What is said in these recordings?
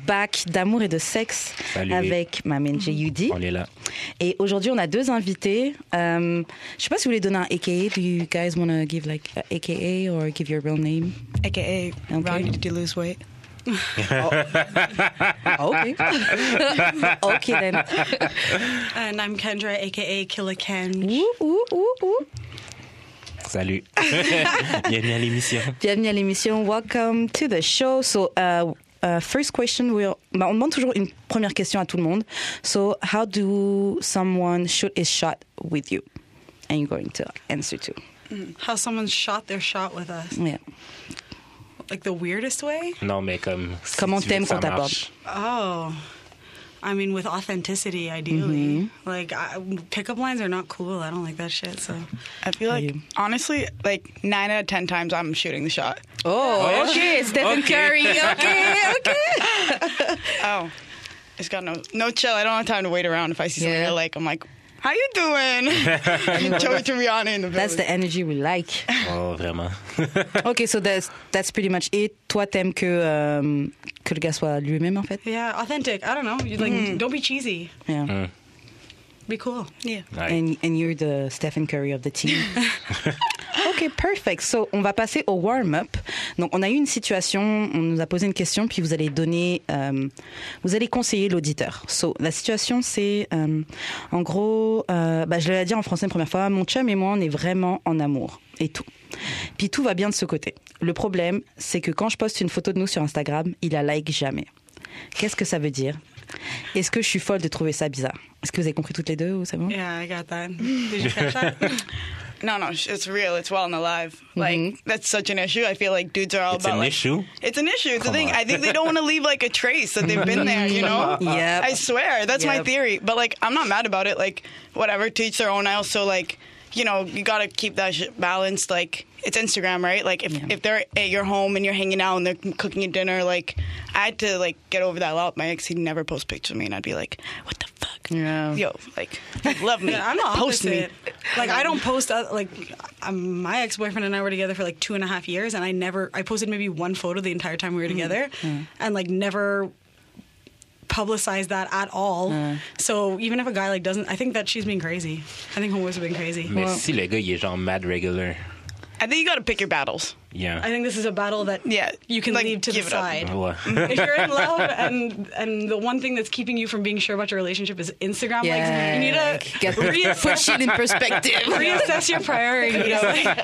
back d'Amour et de sexe. Salut. Avec ma main J.U.D. On est là. Et aujourd'hui, on a 2 invités. Je sais pas si vous voulez donner un AKA. Do you guys want to give like a AKA or give your real name? AKA, Ronnie, did you lose weight? Okay. Okay then. And I'm Kendra, AKA Killer Ken. Salut. Bienvenue à l'émission. Bienvenue à l'émission. Welcome to the show. So, first question, on demande toujours une première question à tout le monde. So, how do someone shoot his shot with you? And you're going to answer too. How someone shot their shot with us. Yeah. Like the weirdest way? Non, mais comme. Si Comment tu veux t'aimes que ça qu'on t'aborde? marche. Oh. I mean, with authenticity, ideally. Like, pickup lines are not cool. I don't like that shit, so. I feel like, honestly, like 9 out of 10 times I'm shooting the shot. Oh, okay. Stephen Okay. Curry. Okay. Oh, it's got no chill. I don't have time to wait around. If I see something Yeah. I like, I'm like, how you doing? Joey Tribbiani in the That's building. the energy we like. Oh, vraiment. Okay, so that's pretty much it. Toi, t'aimes que le gars soit lui-même, en fait? Yeah, authentic. I don't know. You like, don't be cheesy. Yeah. Be cool. Yeah. Ouais. And you're the Stephen Curry of the team. OK, perfect. So, on va passer au warm-up. Donc, on a eu une situation, on nous a posé une question, puis vous allez donner, vous allez conseiller l'auditeur. So, la situation, c'est, en gros, je l'ai dit en français une première fois, mon chum et moi, on est vraiment en amour. Et tout. Puis tout va bien de ce côté. Le problème, c'est que quand je poste une photo de nous sur Instagram, il la like jamais. Qu'est-ce que ça veut dire? Est-ce que je suis folle de trouver ça bizarre? Est-ce que vous avez compris toutes les deux ou c'est bon? Yeah, I got that. Did you catch that? No, it's real. It's well and alive. Like, that's such an issue. I feel like dudes are all It's about an like, issue? It's an issue. It's a Come thing. on. I think they don't want to leave like a trace that they've been there, you know? Yep. I swear. That's my Yep. theory. But like, I'm not mad about it. Like, whatever, to each their own. I also like, you know, you got to keep that shit balanced. Like, it's Instagram, right? Like, if they're at your home and you're hanging out and they're cooking you dinner, like, I had to like get over that a lot. My ex, he'd never post pictures of me, and I'd be like, what the fuck? Yeah. Yo, like, love me. Yeah, I'm the Post me. opposite. Like, I don't post, my ex-boyfriend and I were together for like 2.5 years, and I posted maybe one photo the entire time we were together, and like never publicized that at all. So even if a guy like doesn't, I think that she's being crazy. I think homeboys are being crazy. Mais si le gars, il est genre mad regular. I think you got to pick your battles. Yeah. I think this is a battle that you can like, leave to the give it up. side. Ouais. If you're in love and the one thing that's keeping you from being sure about your relationship is Instagram likes, you need to Get put shit in perspective. reassess your priorities.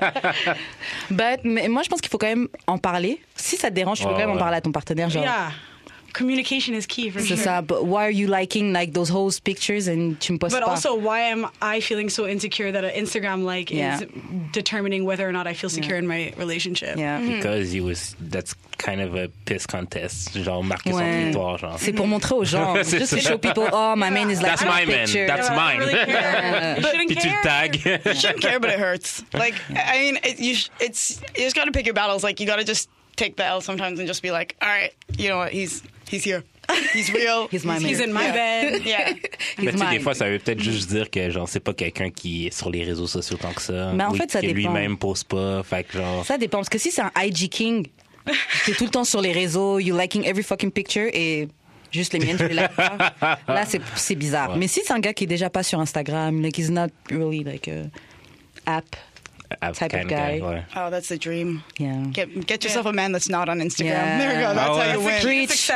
Mais moi, je pense qu'il faut quand même en parler. Si ça te dérange, tu peux quand même en parler à ton partenaire. Genre, Yeah. Communication is key for c'est sure. ça. But why are you liking like those whole pictures and tu me postes But pas? also, why am I feeling so insecure that an Instagram like Yeah. is determining whether or not I feel secure in my relationship? Yeah. Because that's kind of a piss contest. Genre, marquer son Ouais. territoire, genre. C'est pour montrer aux gens. C'est Just to ça. show people, oh, my man is like That's my my man. picture. That's I mine. don't really care. You shouldn't Puis tu le care. tag. You shouldn't care, but it hurts. Like, I mean, you just got to pick your battles. Like, you got to just take the L sometimes and just be like, all right, you know what? He's here. He's real. He's my man. He's in my bed. Yeah. Mais tu sais, des mine. fois, ça veut peut-être juste dire que, genre, c'est pas quelqu'un qui est sur les réseaux sociaux tant que ça. Mais en ou fait, ça que dépend. lui-même pose pas. Fait que, genre. Ça dépend. Parce que si c'est un IG King, t'es tout le temps sur les réseaux, you liking every fucking picture et juste les miennes, tu les likes pas. Là, c'est bizarre. Ouais. Mais si c'est un gars qui est déjà pas sur Instagram, like he's not really like a app type of kind guy. Ouais. Oh, that's the dream. Yeah. Get yourself a man that's not on Instagram. Yeah. There we go. That's Oh, how you win. Preach.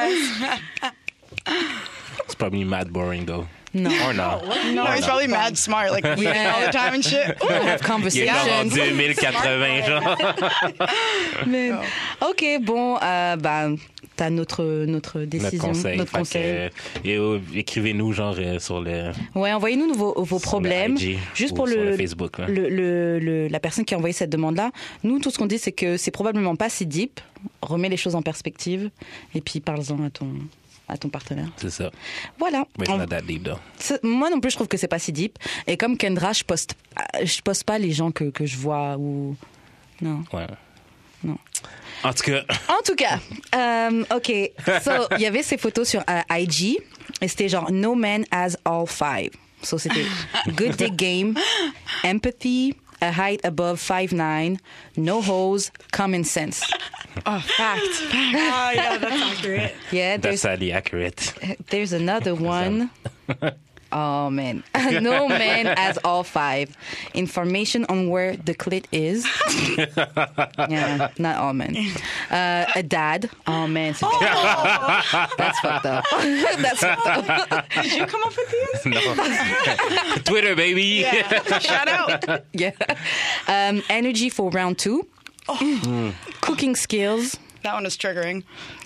C'est probably mad boring, though. No. Or not. No, he's probably mad smart, like Yeah. all the time and shit. Ooh. Have Il est conversations. genre en 2080, genre. Mais- OK, bon, t'as notre décision, Notre conseil. Fait que, écrivez-nous, genre, sur le. Ouais, envoyez-nous vos problèmes. IG Juste ou pour sur le Facebook, là. la personne qui a envoyé cette demande-là. Nous, tout ce qu'on dit, c'est que c'est probablement pas si deep. Remets les choses en perspective et puis parle-en à ton partenaire. C'est ça. Voilà. Mais c'est not that deep, though. Moi non plus, je trouve que c'est pas si deep. Et comme Kendra, je poste pas les gens que je vois ou non. Ouais. Non. En tout cas. En tout cas, OK. So, il y avait ces photos sur IG et c'était genre No man has all five. So, c'était good dick game, empathy, a height above 5'9", no hose, common sense. Oh, fact. Yeah, that's accurate. Yeah, That's sadly accurate. there's another one. Oh, man. No man has all 5. Information on where the clit is. Yeah, not all men. A dad. Oh, man. That's fucked up. That's fucked up. Did you come up with these? No. Twitter, baby. Yeah. Shout out. Yeah. Energy for round 2. Cooking skills. That one is triggering.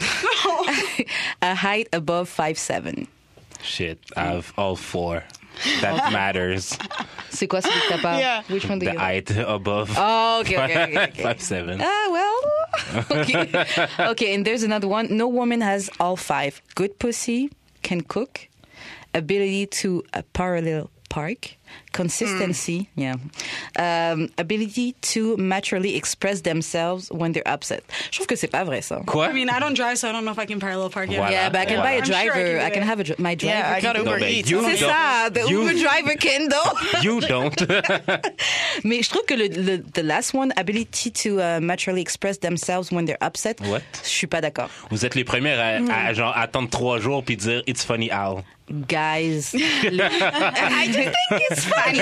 A height above 5'7". Shit, I have all 4. That matters. C'est quoi celui que t'as pas? Yeah. Which one do The you have? height above Oh, okay. 5'7". Well. Okay. Okay, and there's another one. No woman has all 5. Good pussy, can cook, ability to parallel park, consistency, ability to maturely express themselves when they're upset. Je trouve que c'est pas vrai, ça. Quoi? I mean, I don't drive, so I don't know if I can parallel park yet. Voilà. Yeah, but I can buy a I'm sure I driver. can do I can it. have my driver. Yeah, I got can- Uber mais Eats. you C'est don't. ça, the You- Uber driver can, though. You don't. Mais je trouve que the last one, ability to maturely express themselves when they're upset, What? je suis pas d'accord. Vous êtes les premières à genre attendre 3 jours puis dire it's funny Al. Guys. I just think it's funny.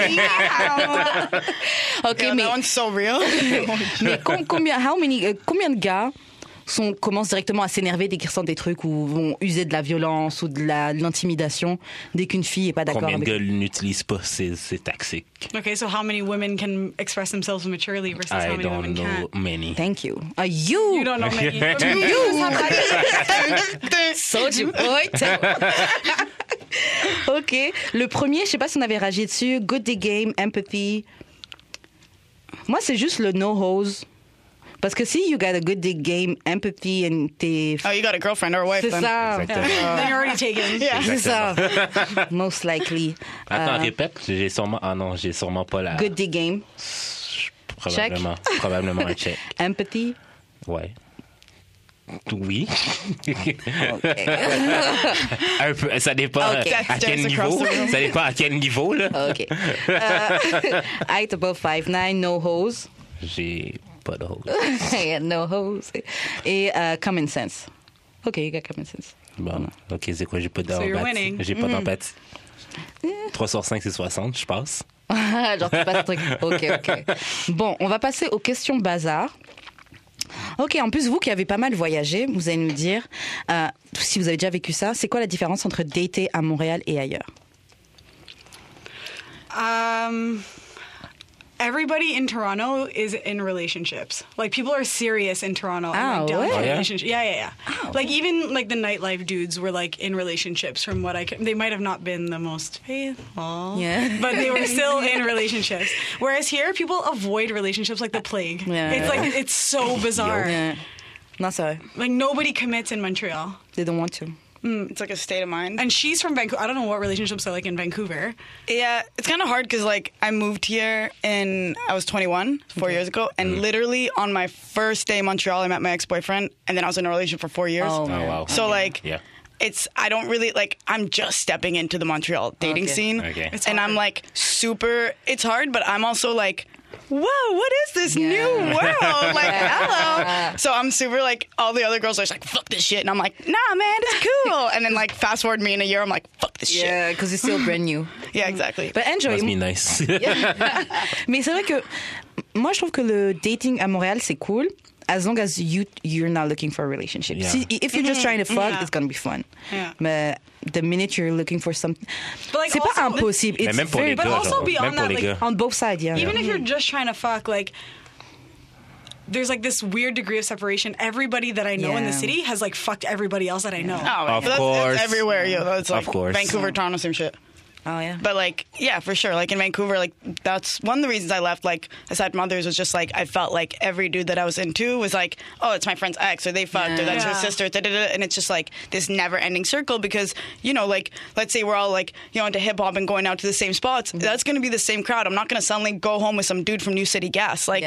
Okay, Yeah, mais, that one's so real. mais combien de gars commencent directement à s'énerver dès qu'ils ressentent des trucs ou vont user de la violence ou de l'intimidation dès qu'une fille est pas d'accord Combien de avec gars n'utilisent pas c'est toxique? Okay, so how many women can express themselves maturely versus how I many don't women know can't? many. Thank you. You don't know many. Soldier boy. OK. Le premier, je sais pas si on avait réagi dessus. Good day game, empathy. Moi, c'est juste le no hose. Parce que si you got a good day game, empathy, and t'es... Oh, you got a girlfriend or a wife C'est then. ça. Exactement. Then you're already taken. Yeah. C'est ça. Most likely. Attends, répète. J'ai sûrement pas la... Good day game, Probablement un check. empathy. Ouais. Oui. OK. Un peu, ça dépend Ok. à quel Just niveau. across the room. Ça dépend à quel niveau, là. OK. Height above 5'9", no hose. J'ai pas de hose. Yeah, no hose. Et common sense. OK, you got common sense. Bon, ok, c'est quoi? J'ai pas So you're d'empathie. winning. J'ai pas d'empathie. 3 sur 5, c'est 60, je passe. Genre, tu passes le truc. OK. Bon, on va passer aux questions bazar. OK, en plus, vous qui avez pas mal voyagé, vous allez nous dire, si vous avez déjà vécu ça, c'est quoi la différence entre dater à Montréal et ailleurs? Everybody in Toronto is in relationships. Like, people are serious in Toronto. Oh, and, like, down ouais? for Oh, yeah? relationship. Yeah. Like, even, like, the nightlife dudes were, like, in relationships from what I can... They might have not been the most faithful. Yeah. But they were still in relationships. Whereas here, people avoid relationships like the plague. Yeah. It's, like, it's so bizarre. Yeah. Non, c'est vrai. Like, nobody commits in Montreal. They don't want to. It's like a state of mind. And she's from Vancouver. I don't know what relationships are like in Vancouver. Yeah, it's kind of hard because like I moved here I was 21 4 years ago, and literally on my first day in Montreal, I met my ex-boyfriend, and then I was in a relationship for 4 years. Oh, Oh, wow. So like, Yeah. I don't really like. I'm just stepping into the Montreal dating Okay. scene, Okay. It's and hard. I'm like super. It's hard, but I'm also like, whoa, what is this Yeah. new world? Like, hello. So I'm super like, all the other girls are just like, fuck this shit, and I'm like, nah, man, it's cool. And then like, fast forward me in a year, I'm like, fuck this Yeah, because it's still brand new. shit. Yeah, exactly. But enjoy. Must be nice. Mais c'est vrai que moi, je trouve que le dating à Montréal, c'est cool. As long as you're not looking for a relationship. Yeah. Si, if you're just trying to fuck, Yeah. it's gonna be fun. Yeah. Mais the minute you're looking for something, But, like, c'est pas also- impossible. Mais It's même pour very les But gars, also genre, beyond même pour that, les like, gars. on both sides, yeah. Even if you're just trying to fuck, like, there's like this weird degree of separation. Everybody that I know in the Yeah. city has like fucked everybody else that I know. Oh, Of that's course. everywhere. Yeah, that's like Of course. Vancouver, Toronto, same shit. Oh yeah. But like, yeah, for sure. Like in Vancouver, like that's one of the reasons I left. Like aside from others, was just like I felt like every dude that I was into was like, oh, it's my friend's ex, or they fucked, or that's her Yeah. sister, and it's just like this never-ending circle because like let's say we're all like into hip hop and going out to the same spots. That's going to be the same crowd. I'm not going to suddenly go home with some dude from New City Gas. Like, Yeah.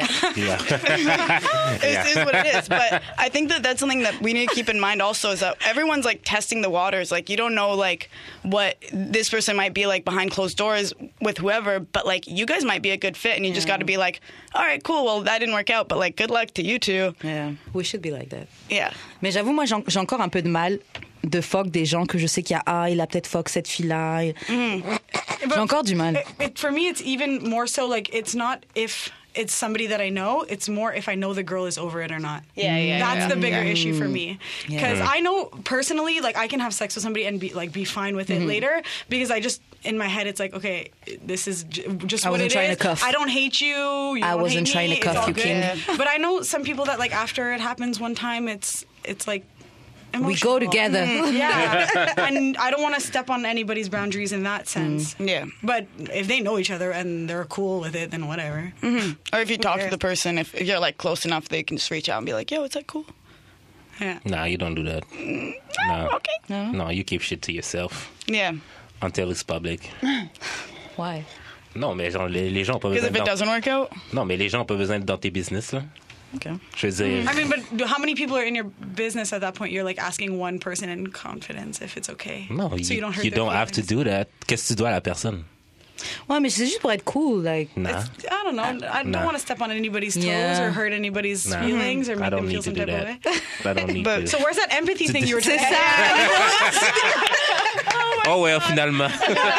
Yeah. it is what it is. But I think that that's something that we need to keep in mind also is that everyone's like testing the waters. Like you don't know like what this person might be like behind closed doors with whoever, but like you guys might be a good fit, and you just got to be like, all right, cool, well that didn't work out, but like good luck to you two. Yeah, we should be like that. Yeah. Mais j'avoue, moi, j'ai encore un peu de mal de fuck des gens que je sais qu'il y a, il a peut-être fuck cette fille-là. J'ai encore du mal. For me, it's even more so like it's not if it's somebody that I know. It's more if I know the girl is over it or not. Yeah. That's the bigger issue for me. Because Yeah. I know personally, like I can have sex with somebody and be fine with it later. Because I just in my head it's like, okay, this is just I what wasn't it trying is. to cuff. I don't hate you. You I don't wasn't hate trying me. to cuff It's all you, good. king. But I know some people that like after it happens one time, it's like. We go emotional. together. Yeah. And I don't want to step on anybody's boundaries in that sense. Yeah. But if they know each other and they're cool with it, then whatever. Or if you talk to the person, if you're like close enough, they can just reach out and be like, yo, is that cool? Yeah. Nah, you don't do that. No. Okay. No, you keep shit to yourself Yeah. until it's public. Why? Non, mais genre, les gens ont pas Because besoin if it doesn't work out, Non, mais les gens ont pas besoin d'être dans tes business, là. Okay. Je veux dire... I mean, but how many people are in your business at that point? You're like asking one person in confidence if it's okay. Non, so you don't hurt you their don't have to feelings. do that. Qu'est-ce que tu dois à la personne? Ouais, mais c'est juste pour être cool, like. Nah. I don't know. I don't Nah. want to step on anybody's toes Yeah. or hurt anybody's Nah. feelings or I make don't them feel need to some do type of that. way. I don't need But- to. So where's that empathy thing you were talking C'est about? ça. Oh, well, finalement.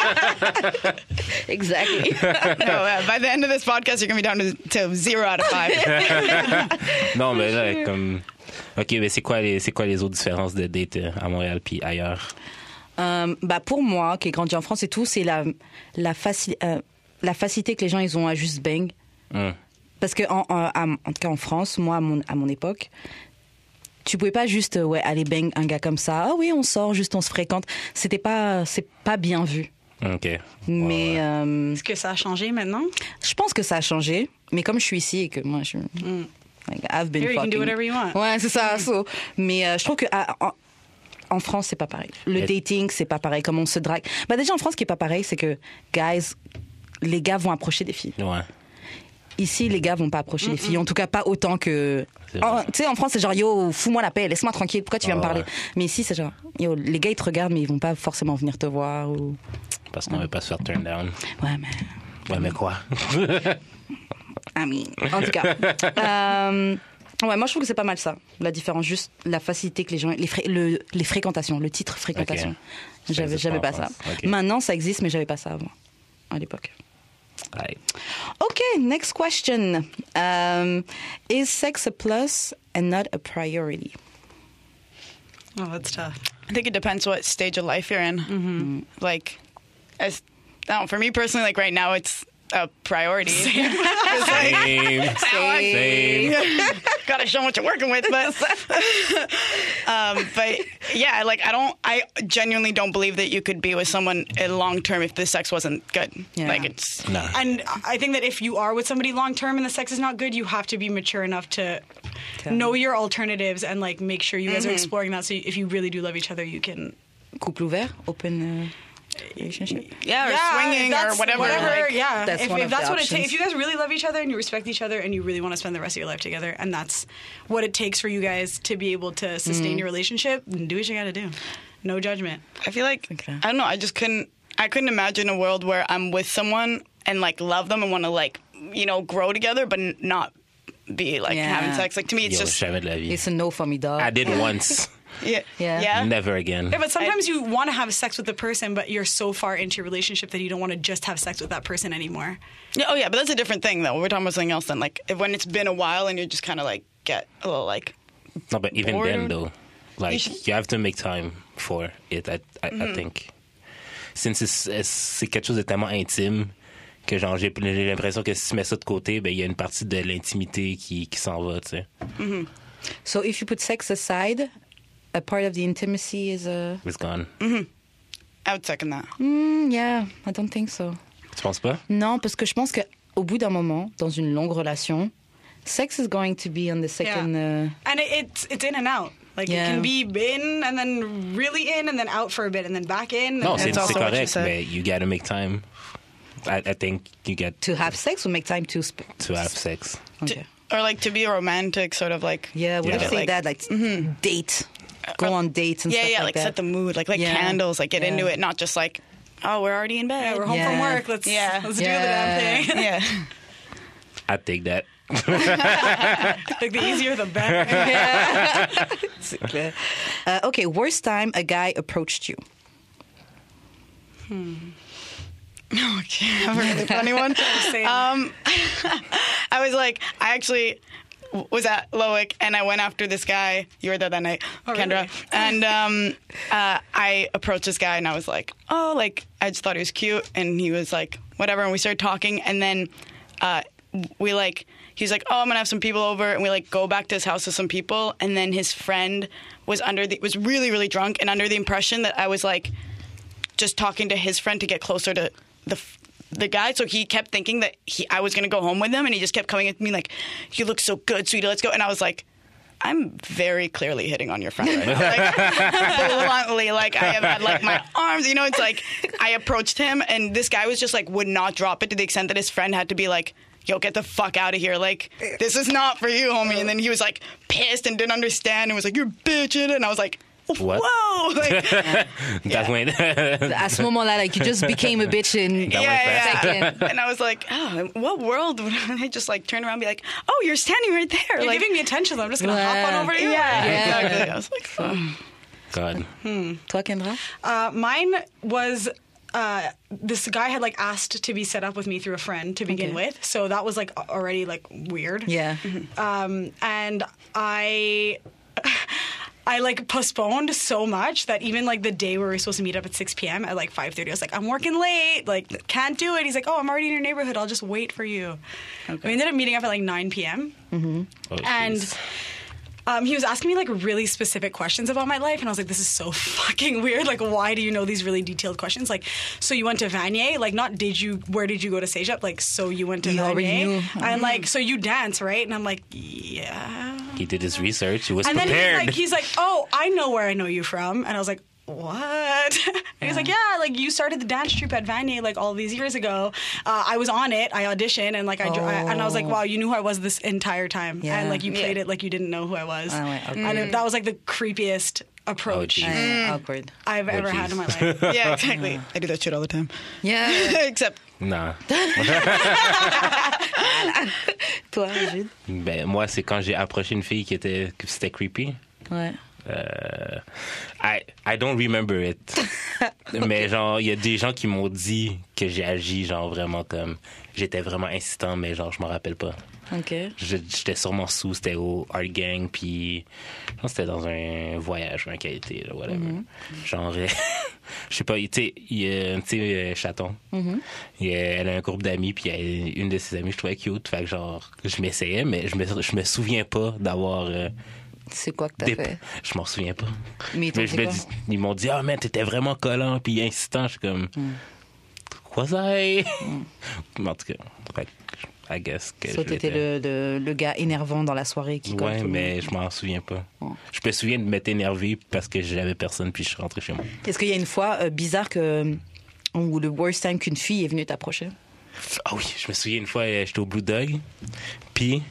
Exactly. no, by the end of this podcast, you're going to be down to 0 out of 5. Non, mais là, comme... OK, mais c'est quoi les autres différences de date à Montréal puis ailleurs? Bah pour moi, qui ai grandi en France et tout, c'est la facilité que les gens ils ont à juste bang. Parce que en tout cas en France, moi à mon époque, tu pouvais pas juste aller bang un gars comme ça. Ah oui, on sort, juste on se fréquente. C'est pas bien vu. OK. Mais Est-ce que ça a changé maintenant? je pense que ça a changé. Mais comme je suis ici et que moi je like, I've been Here, you can fucking. do whatever you want. Ouais, c'est ça. So. Mais je trouve que en France, c'est pas pareil. Le dating, c'est pas pareil. Comme on se drague. Bah déjà en France, ce qui est pas pareil, c'est que les gars vont approcher des filles. Ouais. Ici, les gars vont pas approcher les filles. En tout cas, pas autant que. C'est vrai. Tu sais, en France, c'est genre yo, fous-moi la paix, laisse-moi tranquille. Pourquoi tu viens me parler? Ouais. Mais ici, c'est genre yo, les gars ils te regardent, mais ils vont pas forcément venir te voir ou. Parce qu'on veut pas se faire turn down. Ouais, mais. Ouais, mais quoi? I mean, en tout cas. Ouais, moi je trouve que c'est pas mal ça. La différence, juste la facilité que les gens. Les fréquentations, le titre fréquentation. Ok. Ça existe J'avais pas pas en ça. France. Ok. Maintenant, ça existe, mais j'avais pas ça avant, à l'époque. Ouais. Okay, next question. Is sex a plus and not a priority? Oh, that's tough. I think it depends what stage of life you're in. Like, for me personally, like right now, it's a priority. Same. Gotta show what you're working with, but yeah, like I genuinely don't believe that you could be with someone long term if the sex wasn't good. Yeah. Like it's No. And I think that if you are with somebody long term and the sex is not good, you have to be mature enough to know your alternatives and like make sure you guys are exploring that. So if you really do love each other, you can. Couple ouvert, open relationship. yeah, or swinging or that's whatever. like- yeah. That's if one if of that's the what it options. takes, if you guys really love each other and you respect each other and you really want to spend the rest of your life together, and that's what it takes for you guys to be able to sustain your relationship, then do what you got to do. No judgment. I feel like Okay. I don't know. I couldn't imagine a world where I'm with someone and like love them and want to like grow together, but not be like Yeah. having sex. Like to me, it's Yo, just jamais de la vie. It's a no for me, dog. I did once. yeah. Yeah. Never again. Yeah, but sometimes you want to have sex with the person, but you're so far into your relationship that you don't want to just have sex with that person anymore. Yeah, oh yeah, but that's a different thing though. We're talking about something else then. Like when it's been a while and you just kind of like get a little like No, but even Bored. then, though, like, should- you have to make time for it, I think. Since c'est quelque chose de tellement intime que genre, j'ai l'impression que si tu mets ça de côté, ben il y a une partie de l'intimité qui s'en va, tu sais. So if you put sex aside, a part of the intimacy is a. It's gone. I would second that. Yeah, I don't think so. Tu penses pas? Non, parce que je pense qu'au bout d'un moment, dans une longue relation, sex is going to be on the second. And it's in and out. Like Yeah. it can be in and then really in and then out for a bit and then back in. Non, and c'est then- also what you correct, said. mais you gotta make time. I think you get To have sex or make time to. to have sex. Okay. Or like to be romantic, sort of like Yeah, we Yeah. say like- that, like date. Go on dates and yeah, stuff yeah, like like set that. the mood, like Yeah. candles, like get Yeah. into it, not just like oh, we're already in bed. Yeah, we're home from work. Let's do the damn thing. Yeah. I'd take that. Like the easier, the better. C'est clair. Okay, worst time a guy approached you. Okay, I have a really funny one. Same. I was like, I actually was at Loic and I went after this guy. You were there that night, Kendra. Really? And I approached this guy and I was like, oh, like, I just thought he was cute. And he was like, whatever. And we started talking. And then we like, he's like, oh, I'm going to have some people over. And we like go back to his house with some people. And then his friend was was really, really drunk and under the impression that I was like just talking to his friend to get closer to the guy, so he kept thinking that I was going to go home with him, and he just kept coming at me like, you look so good, sweetie, let's go. And I was like, I'm very clearly hitting on your friend right now. Like, bluntly, like, I have had, like, my arms, you know, it's like, I approached him, and this guy was just, like, would not drop it to the extent that his friend had to be like, yo, get the fuck out of here. Like, this is not for you, homie. And then he was, like, pissed and didn't understand and was like, you're bitching. And I was like, What? whoa. Like, That's when. À ce moment-là, like, you just became a bitch in Yeah. second. And I was like, oh, what world would I just, like, turn around and be like, oh, you're standing right there. You're like, giving me attention, so I'm just going to hop on over to you. yeah, exactly. I was like, oh. God. Toi, Kendra? Mine was this guy had like asked to be set up with me through a friend to begin with, so that was like already like weird. Yeah. And I like postponed so much that even like the day where we were supposed to meet up at 6 p.m. at like 5:30, I was like, I'm working late, like can't do it. He's like, oh, I'm already in your neighborhood, I'll just wait for you. We ended up meeting up at like 9 p.m. Oh, And jeez. he was asking me like really specific questions about my life, and I was like, this is so fucking weird. Like, why do you know these really detailed questions? Like, so you went to Vanier? Like, not where did you go to Cégep? Like, so you went to You already knew. Vanier? And like, so you dance, right? And I'm like, yeah. He did his research. He was And then prepared. he's like, oh, I know where I know you from. And I was like, what? And he's like, yeah, like you started the dance troupe at Vanier like all these years ago. I was on it. I auditioned, and like and I was like, wow, you knew who I was this entire time, Yeah. and like you played it like you didn't know who I was. Oh, wait, okay. And that was like the creepiest approach Oh, geez. Awkward. I've ever jeez. had in my life. Yeah, exactly. I do that shit all the time. Yeah. Except, Non. Toi, Jude? Ben, moi, c'est quand j'ai approché une fille que c'était creepy. Ouais. I don't remember it. Mais genre, il y a des gens qui m'ont dit que j'ai agi genre vraiment comme... J'étais vraiment insistant, mais genre, je m'en rappelle pas. OK. J'étais sûrement sous, c'était au Art Gang, puis je pense que c'était dans un voyage ou un qualité, là, whatever. Genre, je sais pas, tu sais, Chaton, elle a un groupe d'amis, puis une de ses amies, je trouvais cute, fait que genre, je m'essayais, mais je me souviens pas d'avoir... C'est quoi que t'as fait? Je m'en souviens pas. Mais ils t'ont dit quoi? Ils m'ont dit, ah, man, t'étais vraiment collant, puis insistant, je suis comme... Quoi ça? Mais en tout cas, fait que, I guess que So, t'étais le gars énervant dans la soirée qui colle Ouais, tout le mais monde. je m'en souviens pas. Je me souviens de m'être énervé parce que j'avais personne puis je suis rentré chez moi. Est-ce qu'il y a une fois bizarre où le worst time qu'une fille est venue t'approcher? Ah oui, je me souviens une fois, j'étais au Blue Dog, puis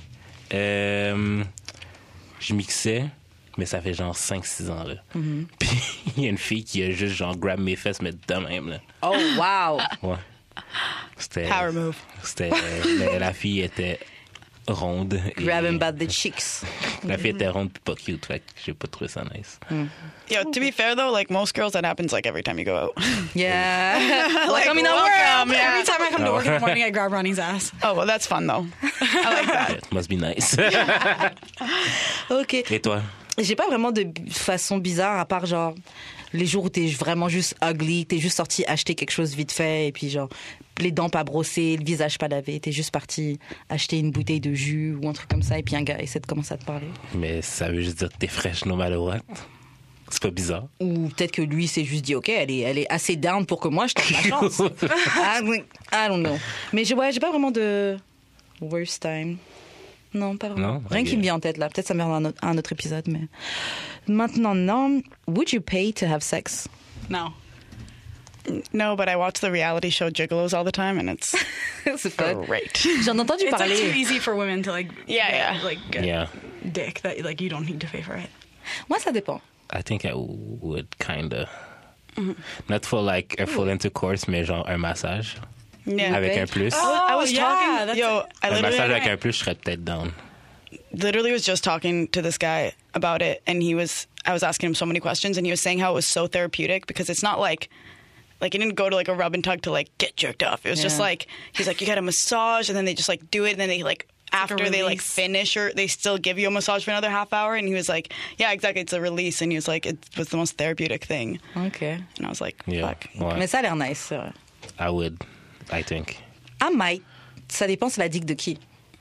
je mixais, mais ça fait genre 5-6 ans, là. Puis il y a une fille qui a juste genre grab mes fesses, mais de même, là. Oh, wow! Ouais. C'était... power move. C'était... mais la fille était ronde. et- Grab him by the cheeks. La fille était ronde puis pas cute, fait que j'ai pas trouvé ça nice. Yo, to be fair though, like most girls, that happens like every time you go out. Yeah. Like, I mean, welcome, yeah. Every time I come to work in the morning, I grab Ronnie's ass. Oh, well, that's fun though. I like that. It must be nice. OK. Et toi? J'ai pas vraiment de façon bizarre, à part genre les jours où t'es vraiment juste ugly, t'es juste sorti acheter quelque chose vite fait, et puis genre les dents pas brossées, le visage pas lavé, t'es juste parti acheter une bouteille de jus ou un truc comme ça, et puis un gars essaie de commencer à te parler. Mais ça veut juste dire que t'es fraîche no matter what. C'est pas bizarre. Ou peut-être que lui s'est juste dit, OK, elle est assez down pour que moi je tente ma chance. I don't know. Mais j'ai pas vraiment de worst time. Non, pas vraiment. Non? Rien Ok. qui me vient en tête là. Peut-être ça me viendra à un autre épisode. Mais maintenant, non. Would you pay to have sex? No. No, but I watch the reality show Gigolos all the time, and it's C'est fun. great. J'en ai entendu It's like too parler. easy for women to like Yeah. get Yeah. dick that like you don't need to pay for it. Moi, ça dépend. I think I would kinda. Not for like a full intercourse, mais genre un massage. Yeah. Avec Okay. un plus. I was yeah, talking. that's Yo, I Un massage avec literally, un plus, je serais peut-être down. literally was just talking to this guy about it, and I was asking him so many questions, and he was saying how it was so therapeutic because it's not like he didn't go to like a rub and tug to like get jerked off. It was just Yeah. like he's like, you get a massage, and then they just like do it, and then they like after they like release. finish, or they still give you a massage for another half hour. And he was like, yeah, exactly, it's a release. And he was like, it was the most therapeutic thing. OK. And I was like, Yeah. fuck. Ouais. Mais ça a l'air nice, ça. I would, I think. I might. Ça dépend, c'est la dick de qui.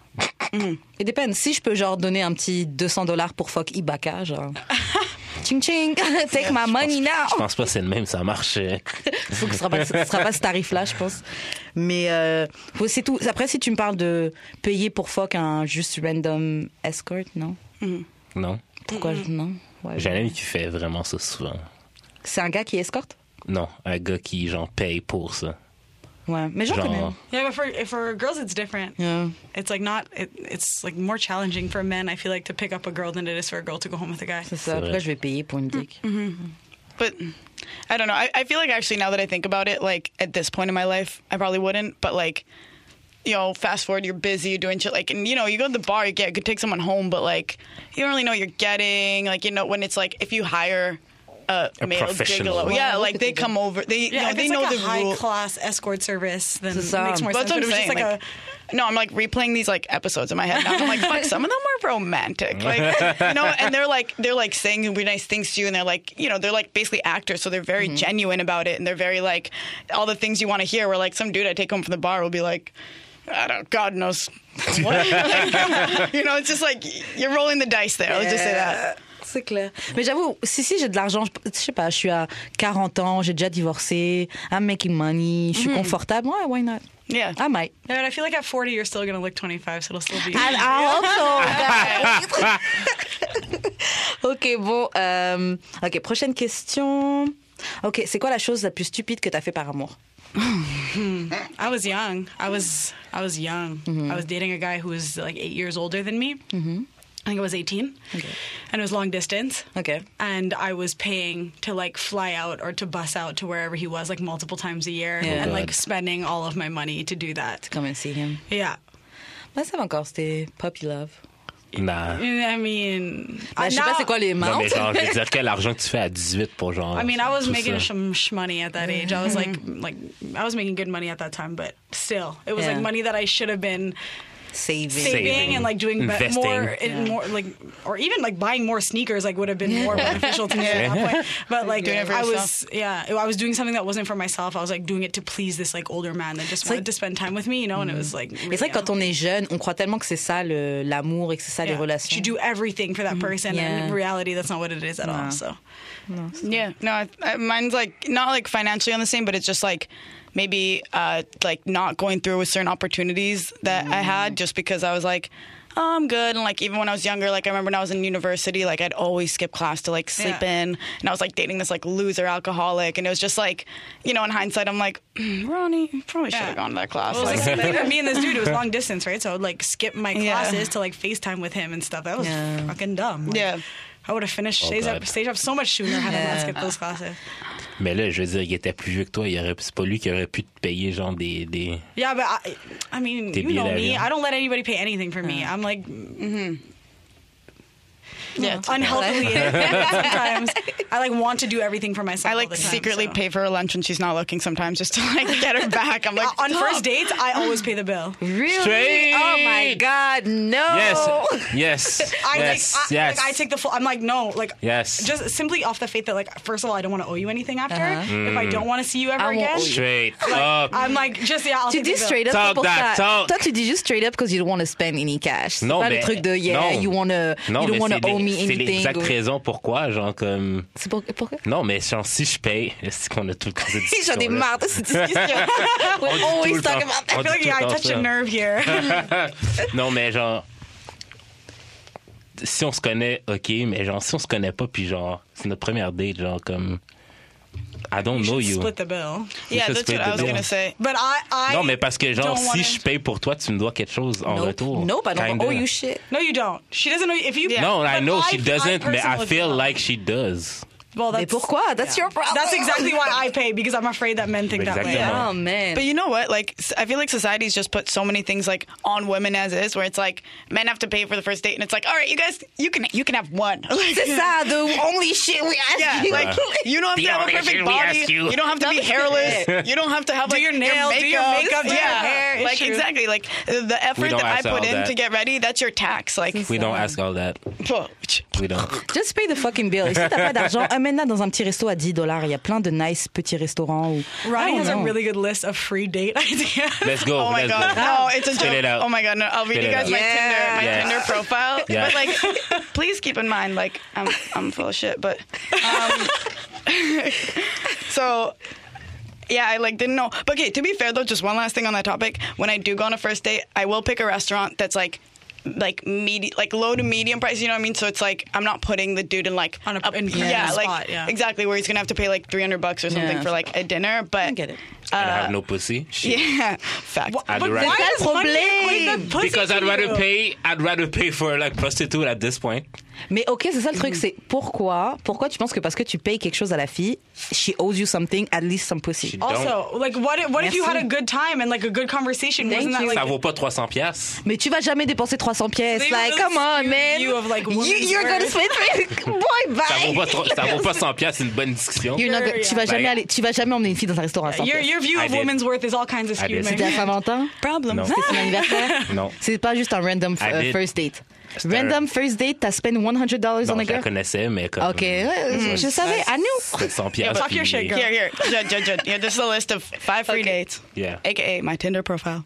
It depends. Si je peux genre donner un petit $200 pour fuck Ibaka, genre. Ching ching, take my money Je now. pense pas que c'est le même, ça marche. Faut que ce sera pas ce tarif-là, je pense. Mais c'est tout. Après, si tu me parles de payer pour fuck un juste random escort, non? Non. Pourquoi non? Ouais, J'ai un ami qui fait vraiment ça souvent. c'est un gars qui escorte? Non, un gars qui, genre, paye pour ça. Ouais, mais j'en connais. Genre, Yeah, but for girls, it's different. Yeah. It's like it's like more challenging for men, I feel like, to pick up a girl than it is for a girl to go home with a guy. C'est ça. C'est Après, vrai. je vais payer pour une dick. But I don't know. I feel like actually now that I think about it, like at this point in my life, I probably wouldn't. But like, you know, fast forward, you're busy, you're doing shit. Like, and you know, you go to the bar, you could take someone home, but like, you don't really know what you're getting. Like, you know, when it's like if you hire a male professional. gigolo, Well, yeah, look like at they the- come over, they Yeah, you know, if they it's know like a the high rule. class escort service, then C'est it ça. makes more But sense. that's what But it I'm was just saying. like Like, no, I'm like replaying these like episodes in my head now. I'm like, fuck, some of them were romantic, like, you know, and they're like saying really nice things to you, and they're like, you know, they're like basically actors, so they're very genuine about it, and they're very like all the things you want to hear. Where like some dude I take home from the bar will be like, I don't, God knows what, like, you know, it's just like you're rolling the dice there. Let's just say that. C'est clair. Mais j'avoue, si j'ai de l'argent, je sais pas, je suis à 40 ans, j'ai déjà divorcé, I'm making money, je suis confortable, ouais, why not? Yeah. I might. yeah, but I feel like at 40 you're still gonna look 25, so it'll still be. And I also. Ok, bon. Ok, prochaine question. Ok, c'est quoi la chose la plus stupide que t'as fait par amour? I was young. I was young. I was dating a guy who was like 8 years older than me. I think I was 18. Okay. And it was long distance. Ok. And I was paying to like fly out or to bus out to wherever he was like multiple times a year Yeah. and Oh, like God. spending all of my money to do that. Come and see him. Yeah. Ouais, ça va encore, c'était puppy love. Nah. I mean, Je sais pas c'est quoi les Non, mais amounts. genre, je veux dire, quel argent que tu fais à 18 pour genre. I mean, I was tout making ça. some money at that age. I was like I was making good money at that time, but still, it was Yeah. like money that I should have been Saving. saving and like doing Investing. more like, or even like buying more sneakers like would have been more beneficial to me at that point. But like Doing it for I yourself. was doing something that wasn't for myself. I was like doing it to please this like older man that just wanted like- to spend time with me, you know. And it was like, Mais c'est vrai que quand on est jeune, on croit tellement que c'est ça l'amour et que c'est ça les relations. you do everything for that person, and Yeah. in reality, that's not what it is at all. So. Yeah, no, mine's like not like financially on the same, but it's just like maybe like not going through with certain opportunities that I had just because I was like, oh, I'm good. And like even when I was younger, like I remember when I was in university, like I'd always skip class to like sleep Yeah. in, and I was like dating this like loser alcoholic, and it was just like, you know, in hindsight, I'm like, Ronnie, you probably should have gone to that class. Well, it was Like, like, for me and this dude, it was long distance, right? So I would like skip my Yeah. classes to like FaceTime with him and stuff. That was Yeah. fucking dumb. Like, Yeah. I would have finished Oh, stage up so much sooner had I not Yeah. skipped those classes. Mais là, je veux dire, il était plus vieux que toi. C'est pas lui qui aurait pu te payer genre des... Yeah, but I mean, Tes you know billets me. d'avion. I don't let anybody pay anything for me. I'm like yeah, unhealthily sometimes. I like want to do everything for myself. I all like the time, secretly so. pay for her lunch when she's not looking sometimes just to like get her back. I'm like, On stop. first dates, I always pay the bill. Really? Straight. Oh my God, no. Yes. I take the full. I'm like, no, like, Yes. just simply off the faith that, like, first of all, I don't want to owe you anything after. If I don't want to see you ever I won't again, owe you. Straight like, up. I'm like, just I'll Tu take the dis bill. straight up Talk pour that ça. talk. Toi, tu dis juste straight up because you don't want to spend any cash. C'est Non, pas mais le truc de non. you don't mais want to c'est owe me c'est anything. l'exacte or- raison pourquoi, genre comme... C'est pourquoi? Non, mais genre, si je paye, c'est qu'on a tout le temps cette discussion. J'en ai marre de cette discussion. We dit tout always le talk temps. about On I feel like dit tout I le temps touched a ça. nerve here. Non, mais genre... Si on se connaît, OK, mais genre, si on se connaît pas, puis genre, c'est notre première date, genre, comme... I don't know you. Split the bill. Yeah, should that's split what the I was bill. gonna say. But I Non, mais parce que genre, don't si wanna- je paye pour toi, tu me dois quelque chose en retour. Nope, I don't Kinda. owe you shit. No, you don't. She doesn't know if you. No, I but know she doesn't, but I personally feel feel- like she does. Well, Mais pourquoi? That's your problem. That's exactly why I pay, because I'm afraid that men think that way. Exactement. Oh, man. But you know what? Like, I feel like society's just put so many things like on women as is, where it's like men have to pay for the first date, and it's like, all right, you guys, you can have one. Like, C'est ça, the only shit we ask yeah, you. like you don't have The to have a only perfect shit we body. ask you. You don't have to be hairless. You don't have to have like your nails, do your makeup, do your hair. It's Like true. exactly, like the effort don't that I ask all put in that. to get ready, that's your tax. Like, We don't ask all that. We don't. Just pay the fucking bill. Et si t'as pas d'argent, amène-la dans un petit resto à $10. Il y a plein de nice petits restaurants. Où, Ronnie I has don't a know. really good list of free date ideas. Let's go. oh my Let's god, go. no, it's a Spit joke. it out. Oh my god, no, I'll read Spit you it guys out. my Yes. Tinder profile. Yeah. But like, please keep in mind, like, I'm full of shit. But so. Yeah, I like didn't know. But okay, to be fair though, just one last thing on that topic. When I do go on a first date, I will pick a restaurant that's like low to medium price. You know what I mean? So it's like I'm not putting the dude in like On a- in yeah, like spot, yeah. exactly where he's gonna have to pay like $300 or something Yeah. for like a dinner. But I get it. And I have no pussy. Shit. yeah, fact. I'd But rather- why That's does money equate problème. the pussy Because to I'd you? rather pay for like prostitute at this point. Mais ok, c'est ça le truc, c'est pourquoi tu penses que parce que tu payes quelque chose à la fille, she owes you something, at least some pussy. She Also, like, what if you had a good time and like a good conversation? Thank Wasn't that you. like Ça vaut pas 300 piastres. Mais tu vas jamais dépenser 300 pièces. They Like, will come on, skew man. you of, like, women's You're gonna worth. spend boy, bye. Ça vaut pas 100 piastres, c'est une bonne discussion. You're not gonna- tu vas jamais aller, tu vas jamais emmener une fille dans un restaurant à 100 pièces. Your view I of did. women's worth is all kinds of I skewed. did. C'était à Saint-Valentin? Problem. Non. C'était son anniversaire? Non. C'est pas juste un random I did. first date. C'était Random first date, t'as spend $100 Non, on a je la girl? connaissais, mais comme... Ok, ouais, je savais, I knew. 700 piastres. talk your puis- shit, girl. Here, Judd. Yeah, this is a list of 5 free dates. Yeah. AKA my Tinder profile.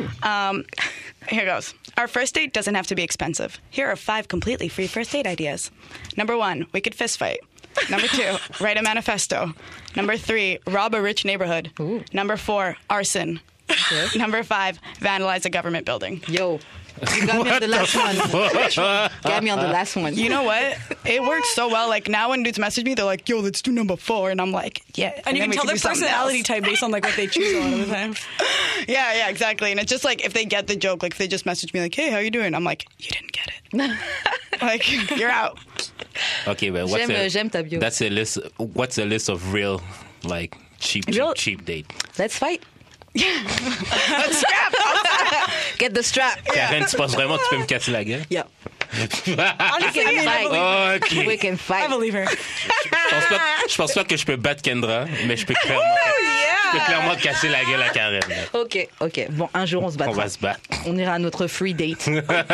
Here goes. Our first date doesn't have to be expensive. Here are 5 completely free first date ideas. Number 1, we could fist fight. Number 2, write a manifesto. Number 3, rob a rich neighborhood. Number 4, arson. Number 5, vandalize a government building. Yo, you got me on the last one. Got me on the last one. You know what? It works so well. Like now when dudes message me, they're like, yo, let's do number 4. And I'm like, yeah. And you then can we tell do their something personality else. type based on like what they choose a lot of the time. Yeah, exactly. And it's just like if they get the joke, like if they just message me like, hey, how you doing? I'm like, you didn't get it. Like, you're out. Okay, but J'aime ta bio. That's a list. What's a list of real, like, cheap date? Let's fight. Let's scrap. Get the strap. Karen, tu penses vraiment que tu peux me casser la gueule? Yeah. Honestly, can I fight. believe, Ok. We can I fight. believe her. Je pense pas que je peux battre Kendra, mais je peux clairement casser la gueule à Karen. là. Ok. Bon, un jour, on se battra. On va se battre. On ira à notre free date.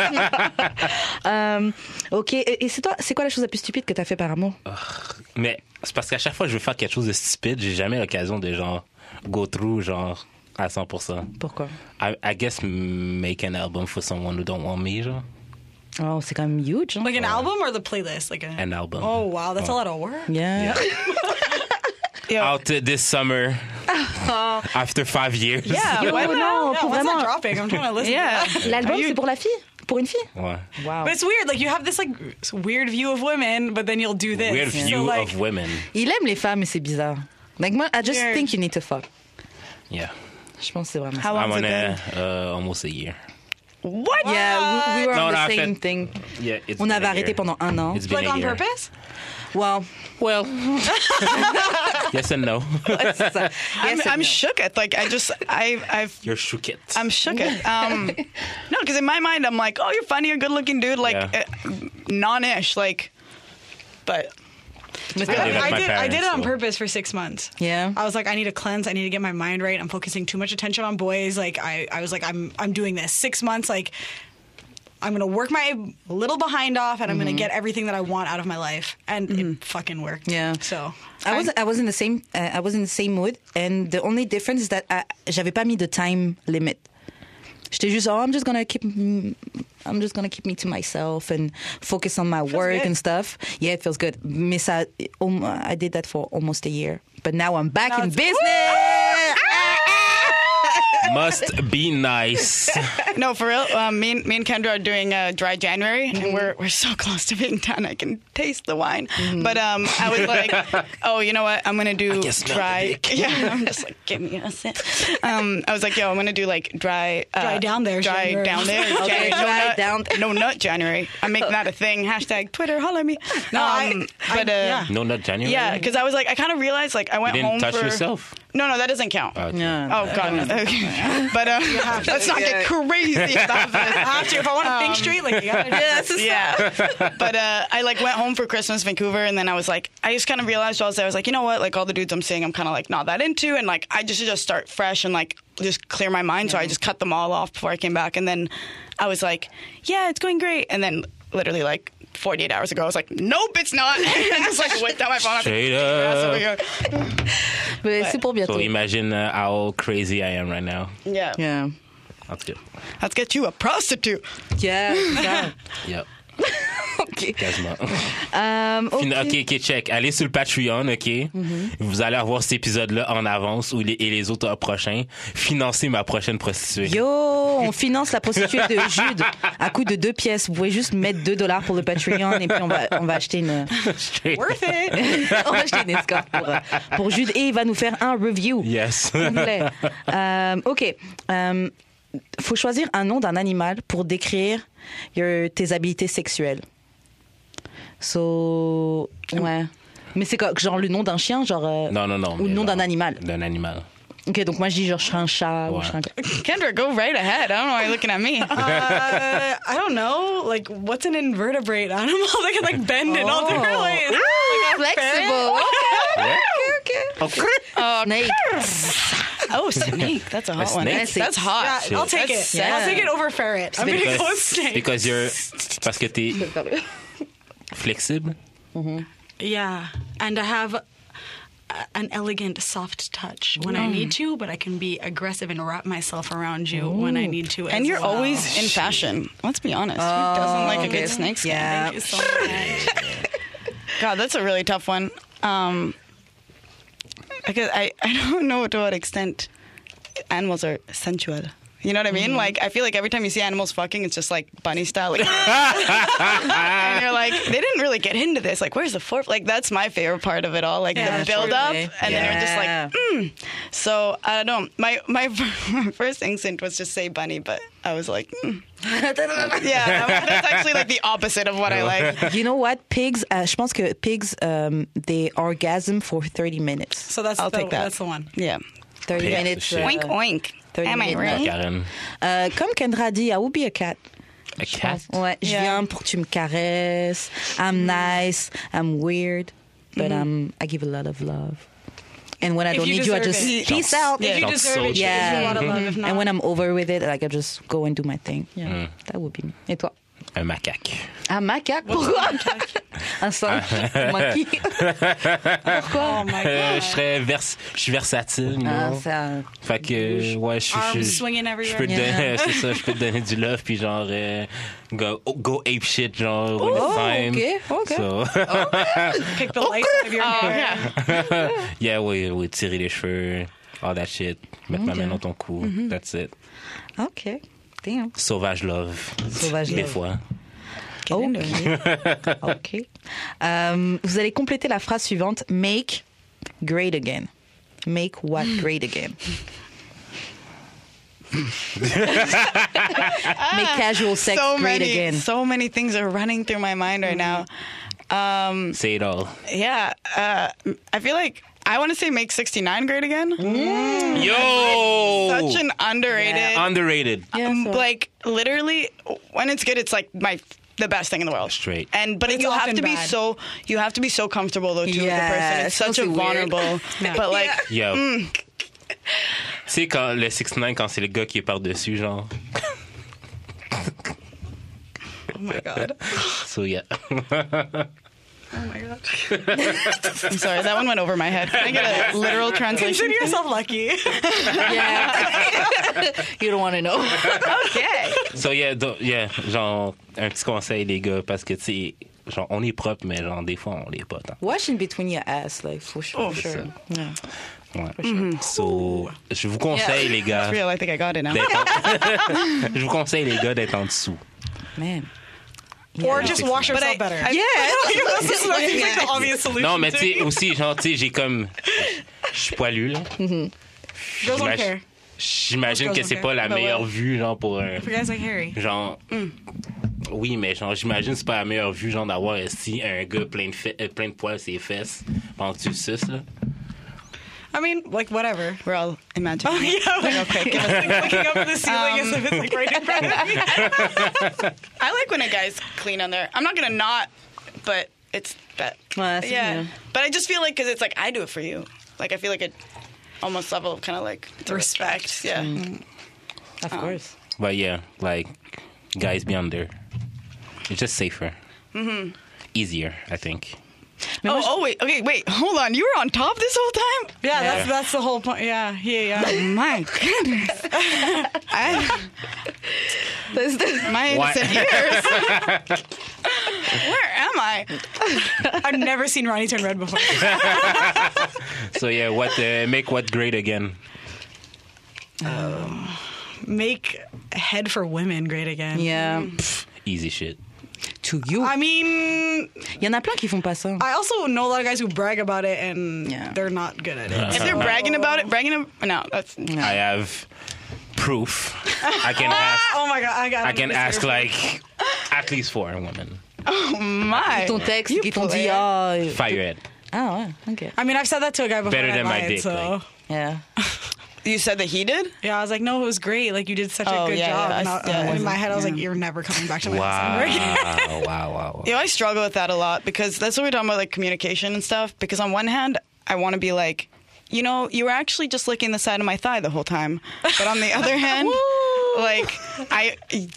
Ok. Et c'est quoi la chose la plus stupide que t'as fait par amour? Mais c'est parce qu'à chaque fois que je veux faire quelque chose de stupide, j'ai jamais l'occasion de genre go through genre à 100%. Pourquoi? I guess make an album for someone who don't want me, genre. Oh, c'est quand même huge. Hein? Like an album or the playlist? Like An album. Oh wow, that's a lot of work. Yeah. Out this summer after 5 years. Yeah, Yo, why non, Yeah, pour when's vraiment. that dropping? I'm trying to listen. Yeah. To that. L'album, Are you- c'est pour la fille? Pour une fille? Ouais. Wow. But it's weird. Like you have this like weird view of women, but then you'll do this. Weird So, view like, of women. Il aime les femmes et c'est bizarre. Like moi, I just Weird. think you need to fuck. Yeah. Je pense que c'est vraiment ça. How I'm long's on it been? almost a year. What? Yeah, we were No, on no, the I same felt- thing. Yeah, it's On been avait a arrêté year. pendant 1 an. It's been like a on year. purpose? Well, Well, yes and no. c'est ça. Yes and I'm no. shook at like I've You're shook it. I'm shook at no, because in my mind I'm like, oh, you're funny, you're a good looking dude, like Yeah. non-ish, like, but I like my I did parents, it on so- purpose for 6 months. Yeah. I was like, I need to cleanse. I need to get my mind right. I'm focusing too much attention on boys. Like I was like, I'm doing this 6 months. Like I'm gonna work my little behind off, and I'm gonna get everything that I want out of my life, and it fucking worked. Yeah. So I was in the same mood, and the only difference is that j'avais pas mis de time limit. J'étais juste, I'm just gonna keep me to myself and focus on my work good. and stuff. Yeah, it feels good. Mais ça, I did that for almost a year, but now I'm back Now in it's- business. Must be nice. No, for real. Me and Kendra are doing dry January, and we're so close to being done. I can taste the wine. But I was like, oh, you know what? I'm gonna do dry. Yeah, I'm just like, give me a sip. I was like, yo, I'm gonna do like dry. Dry down there. Dry January. down there. Okay, January. dry down there. No nut January. I'm making that a thing. Hashtag Twitter. Holla at me. Yeah. No, not January. Yeah, because I was like, I kind of realized like I went You didn't home touch for. yourself. No, that doesn't count. Okay. Yeah. Oh God, no. Okay. But let's not get crazy about this. I have to. If I want to think straight, like, you gotta do this. Yeah. But I like went home for Christmas, Vancouver, and then I was like, I just kind of realized while I was there, I was like, you know what? Like all the dudes I'm seeing, I'm kind of like not that into, and like I just start fresh and like just clear my mind. So I just cut them all off before I came back, and then I was like, yeah, it's going great, and then literally like 48 hours ago, I was like, nope, it's not. And I just like whipped out my phone. Straight Over up. here. Mais c'est pour bientôt. So imagine how crazy I am right now. Yeah. Yeah. En tout cas. Let's get you a prostitute. Yeah. Yeah. Yep. OK. Quasiment. OK. OK, check. Allez sur le Patreon, OK? Vous allez avoir cet épisode-là en avance et les autres prochains. Financez ma prochaine prostituée. Yo, on finance la prostituée de Jude à coût de 2 pièces. Vous pouvez juste mettre $2 pour le Patreon et puis on va acheter une... Worth it. on va acheter une escorte pour Jude et il va nous faire un review. Yes. Complet. OK. Faut choisir un nom d'un animal pour décrire tes habiletés sexuelles. So, ouais. Mais c'est quoi, genre le nom d'un chien, genre Non. ou le nom d'un animal. D'un animal. OK, donc moi je dis genre je serais un chat ou Ouais. je serais un... Kendra, go right ahead. I don't know why you're looking at me. I don't know. Like, what's an invertebrate animal that can like bend in all different ways? Like a Flexible. ferret? Yeah. Snake. Oh, snake. That's a hot one. snake? That's hot. Yeah, I'll take it. That's I'll take it over ferret. I'm gonna go with snake. Because you're... Parce que t'es flexible. Yeah, and I have an elegant, soft touch when I need to, but I can be aggressive and wrap myself around you when I need to. And as you're well. always in fashion. Let's be honest. Who doesn't like a good snake skin? Yeah. Thank you so much. God, that's a really tough one. Because I don't know to what extent animals are sensual. You know what I mean? Like, I feel like every time you see animals fucking, it's just like bunny style. Like, and you're like, they didn't really get into this. Like, where's the fourth? Like, that's my favorite part of it all. Like, Yeah, the build up. truly. And then you're just like, So, I don't know. My first instinct was just say bunny, but I was like, Yeah, that's actually like the opposite of what I like. You know what? Pigs, je pense que pigs, they orgasm for 30 minutes. So I'll take that. That's the one. Yeah. 30 Pigs, minutes. shit. Oink, oink. 30 Am I minutes. right? Karen. Comme Kendra dit, I will be a cat. A cat? Ouais, je Yeah. viens pour que tu me caresses. I'm nice. I'm weird. But I give a lot of love. And when I If don't you need you, I deserve just it. peace out. If you Genre deserve it, you soldier. deserve a lot of love. If not, And when I'm over with it, like I just go and do my thing. Yeah, that would be me. Et toi? Un macaque. Un macaque? Pourquoi? Un singe? Monkey? Pourquoi? oh my god, Je suis versatile, you Ah, know? ça... Fait que, ouais, arms swinging je everywhere. peux te Yeah. donner, c'est ça, je peux te donner du love, puis genre, go ape shit, genre, when it's time. OK. So, Pick the lights out of your hair. yeah, oui, tirer les cheveux, all that shit, mettre ma main dans ton cou, that's it. OK. Damn. Sauvage love. Sauvage Des love. fois. OK. Vous allez compléter la phrase suivante. Make great again. Make what great again? Make casual sex great again. So many things are running through my mind right now. Say it all. Yeah, I feel like I want to say make 69 great again. Yo! Such an underrated. Underrated. Yeah, so- Like literally, when it's good, it's like the best thing in the world. Straight. But It's you have often to be bad. you have to be so comfortable though too with the Yeah, person. It's such a so weird. vulnerable. But like, Yo. Tu sais, quand le 6ix9ine, quand c'est le gars qui est par-dessus, genre. Oh my god. So, yeah. Oh my god. I'm sorry, that one went over my head. Can I get a literal translation? Consider yourself lucky. Yeah. You don't want to know. Okay. So, yeah, genre, un petit conseil, les gars, parce que, tu sais, genre, on est propre, mais genre, des fois, on l'est pas tant. Wash in between your ass, like, for sure. Oh, for sure. Yeah. Ouais. So, je vous conseille, les gars, Real, I think I got it now. je vous conseille, les gars, d'être en dessous. Man. Or just wash But yourself I- better. I- This is like the obvious solution. Non, mais tu sais, to me. aussi, genre, tu sais, j'ai comme. Je suis poilu, là. Girls don't J'imagine- care. J'imagine Most que girls c'est don't pas care. la But meilleure ouais. vue, genre, pour un. For guys like Harry. Genre. Oui, mais genre, j'imagine que c'est pas la meilleure vue, genre, d'avoir ici un gars plein de poils sur ses fesses pendant que tu le suces, là. I mean, like, whatever. We're all imagining. Yeah, like, Okay, give us a like looking up at the ceiling as if it's like right in front of me. I like when a guy's clean on there. I'm not gonna not, but it's that. Ouais, c'est Yeah, bien. but I just feel like because it's like I do it for you. Like I feel like it almost level of kind of like the respect. Yeah. Of course. But yeah, like, guys be under. It's just safer. Easier, I think. Wait. Okay, wait. Hold on. You were on top this whole time. Yeah, that's the whole point. Yeah. My goodness. My Why- innocent ears. Where am I? I've never seen Ronnie turn red before. So yeah, make what great again? Make head for women great again. Yeah. Easy shit. To you. I mean, Il y en a plein qui font pas ça. I also know a lot of guys who brag about it and Yeah. they're not good at it. If they're bragging about it, no, that's I have proof. I can ask. Oh my god, I can ask like at least 4 women. my. Ton texte You qui t'ont play dit, it. ah. Fire it. Ah ouais, ok. I mean, I've said that to a guy before. Better and I than my lied, dick, So. like. Yeah. You said that he did? Yeah, I was like, no, it was great. Like, you did such a Oh, good yeah, job. yeah, And in my head, I was like, yeah. you're never coming back to my house ever again. Wow. I struggle with that a lot because that's what we're talking about, like communication and stuff. Because on one hand, I want to be like, you know, you were actually just licking the side of my thigh the whole time. But on the other hand, like, I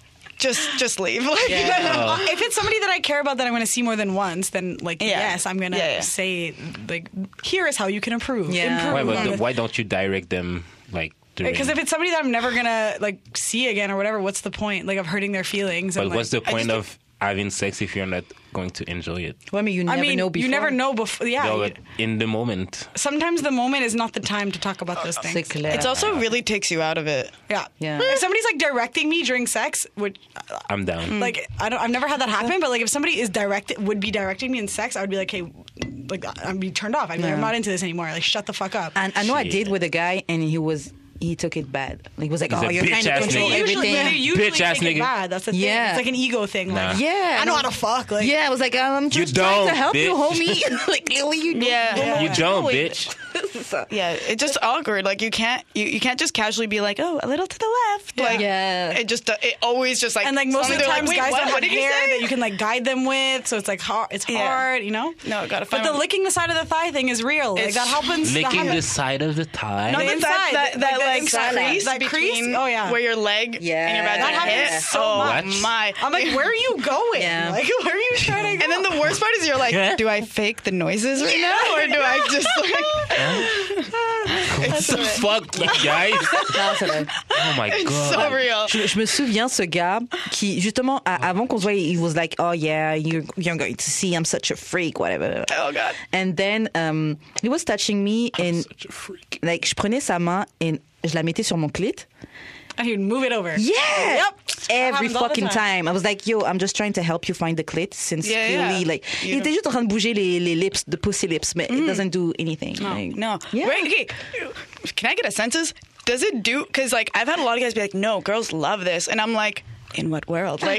just leave. Like, If it's somebody that I care about that I'm going to see more than once, then, like, Yeah. yes, I'm going to Yeah. say, like, here is how you can improve. Yeah. Why don't you direct them like? Because if it's somebody that I'm never going to, like, see again or whatever, what's the point? Like, of hurting their feelings. But and, what's like, the point of having sex if you're not going to enjoy it? Ouais, mais you never know before. you never know before. Yeah. No, but in the moment. Sometimes the moment is not the time to talk about those C'est things. clair. It's also really takes you out of it. Yeah. Yeah. If somebody's like directing me during sex, which I'm down. like I've never had that happen, but like if somebody would be directing me in sex, I would be like, hey, like I'd be turned off. I'd be like, I'm not into this anymore. Like shut the fuck up. And I know I Shit. did with a guy, and he took it bad. Like, he was like, He's oh, a you're trying to bitch-ass control nigga. Usually, everything. they usually Bitch-ass take it nigga. bad. That's the thing. Yeah. It's like an ego thing. Nah. Like, Yeah. I know how to fuck. Like, Yeah, I was like, I'm just You trying to don't, help you, bitch. homie. Like, what are you doing? Yeah. You don't, doing? bitch. Yeah, it's just awkward. Like you can't just casually be like, oh, a little to the left. Like Yeah. it always just like and like most of the they're times, like, guys Wait, don't what have did you hair say? that you can like guide them with, so it's like hard. It's Yeah. hard, you know. No, gotta find But the one. licking the side of the thigh thing is real. Like It's that happens. that Licking the happens. side of the thigh. No, The the inside, inside, that the like inside, crease that crease? between Oh, yeah. where your leg Yeah. and your That vagina happens hit. so oh much. my! I'm like, where are you going? Yeah. Like, where are you trying to go? And then the worst part is you're like, do I fake the noises right now or do I just like? What the fuck, you guys? Non, c'est vrai. Oh my It's god. so real. Je me souviens ce gars qui justement avant qu'on se voie, he was like, oh yeah, you're going to see I'm such a freak, whatever. Oh god. And then he was touching me and Such a freak. like je prenais sa main et je la mettais sur mon clit. And he'd move it over. Yeah. Yep. Every Happens all the fucking time. time. I was like, yo, I'm just trying to help you find the clit since Yeah, clearly yeah. like You il était juste en train de bouger les lips, the pussy lips, but it doesn't do anything. Like, No. Yeah. Wait, okay. Can I get a census? Does it do? Because like I've had a lot of guys be like, no, girls love this, and I'm like, in what world? Like,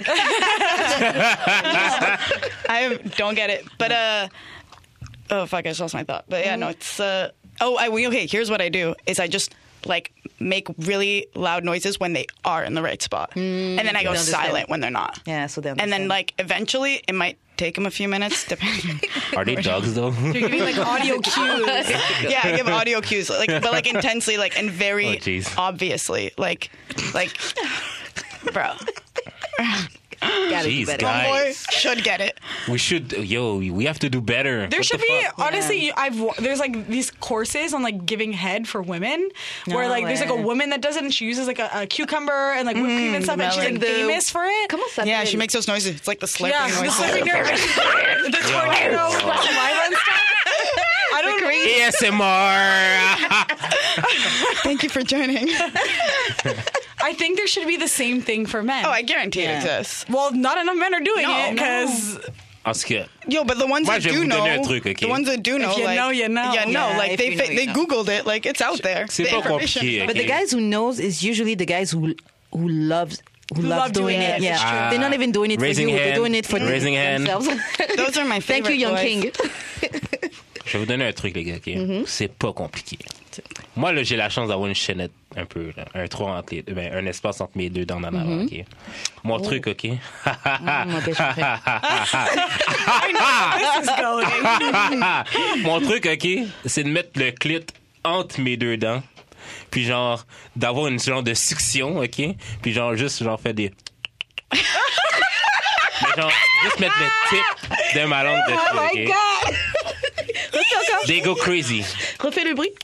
I don't get it. But oh fuck, I just lost my thought. But yeah, no, it's okay. Here's what I do: is I just like make really loud noises when they are in the right spot, and then I go They understand. silent when they're not. Yeah, so they And then understand. like eventually it might take them a few minutes, depending. Are they dogs though? You're giving like audio cues. Yeah, I give audio cues, like, but like intensely, like, and Oh, very jeez. obviously, like, bro, Gotta do Jeez, better. guys. boy should get it. We should, we have to do better. There What should the be fuck? honestly. There's like these courses on like giving head for women, where No like there's like a way. woman that does it and she uses like a cucumber and like whipped cream and stuff, and she's like melon. famous for it. Comment ça Yeah, s'appelle? she makes those noises. It's like the slurping Yeah, the noises. slipping nerve, the tornado, saliva and stuff. I don't know. ASMR. Thank you for joining. I think there should be the same thing for men. Oh, I guarantee Yeah. it exists. Well, not enough men are doing No, it because En tout cas, Yo, but the ones Moi, that je vais do vous know, donner un truc, ok? the ones that do know, you like, know, you know. Yeah, no, Yeah, like if they you know, you they know. Googled it, like it's out there. C'est The pas information compliqué, is ok? But the guys who knows is usually the guys who love love doing doing it. it, Yeah, it's true. they're not even doing it for Raising you. They're hand. doing it for Raising hand. themselves. Those are my favorite Thank you, Young boys. King. Je vais vous donner un truc, les gars, OK? C'est pas compliqué. Moi, là, j'ai la chance d'avoir une chaînette un peu, là, un trou entre les, ben, un espace entre mes deux dents en avant, OK? Mon truc, OK? Mon père, je suis prêt. this is going. Mon truc, OK, c'est de mettre le clit entre mes deux dents, puis genre, d'avoir une genre de succion, OK? Puis genre, juste, genre, faire des... Mais genre, juste mettre le tip de ma langue dessus, Oh my OK? God! Refais encore. They go crazy. Refais le bruit.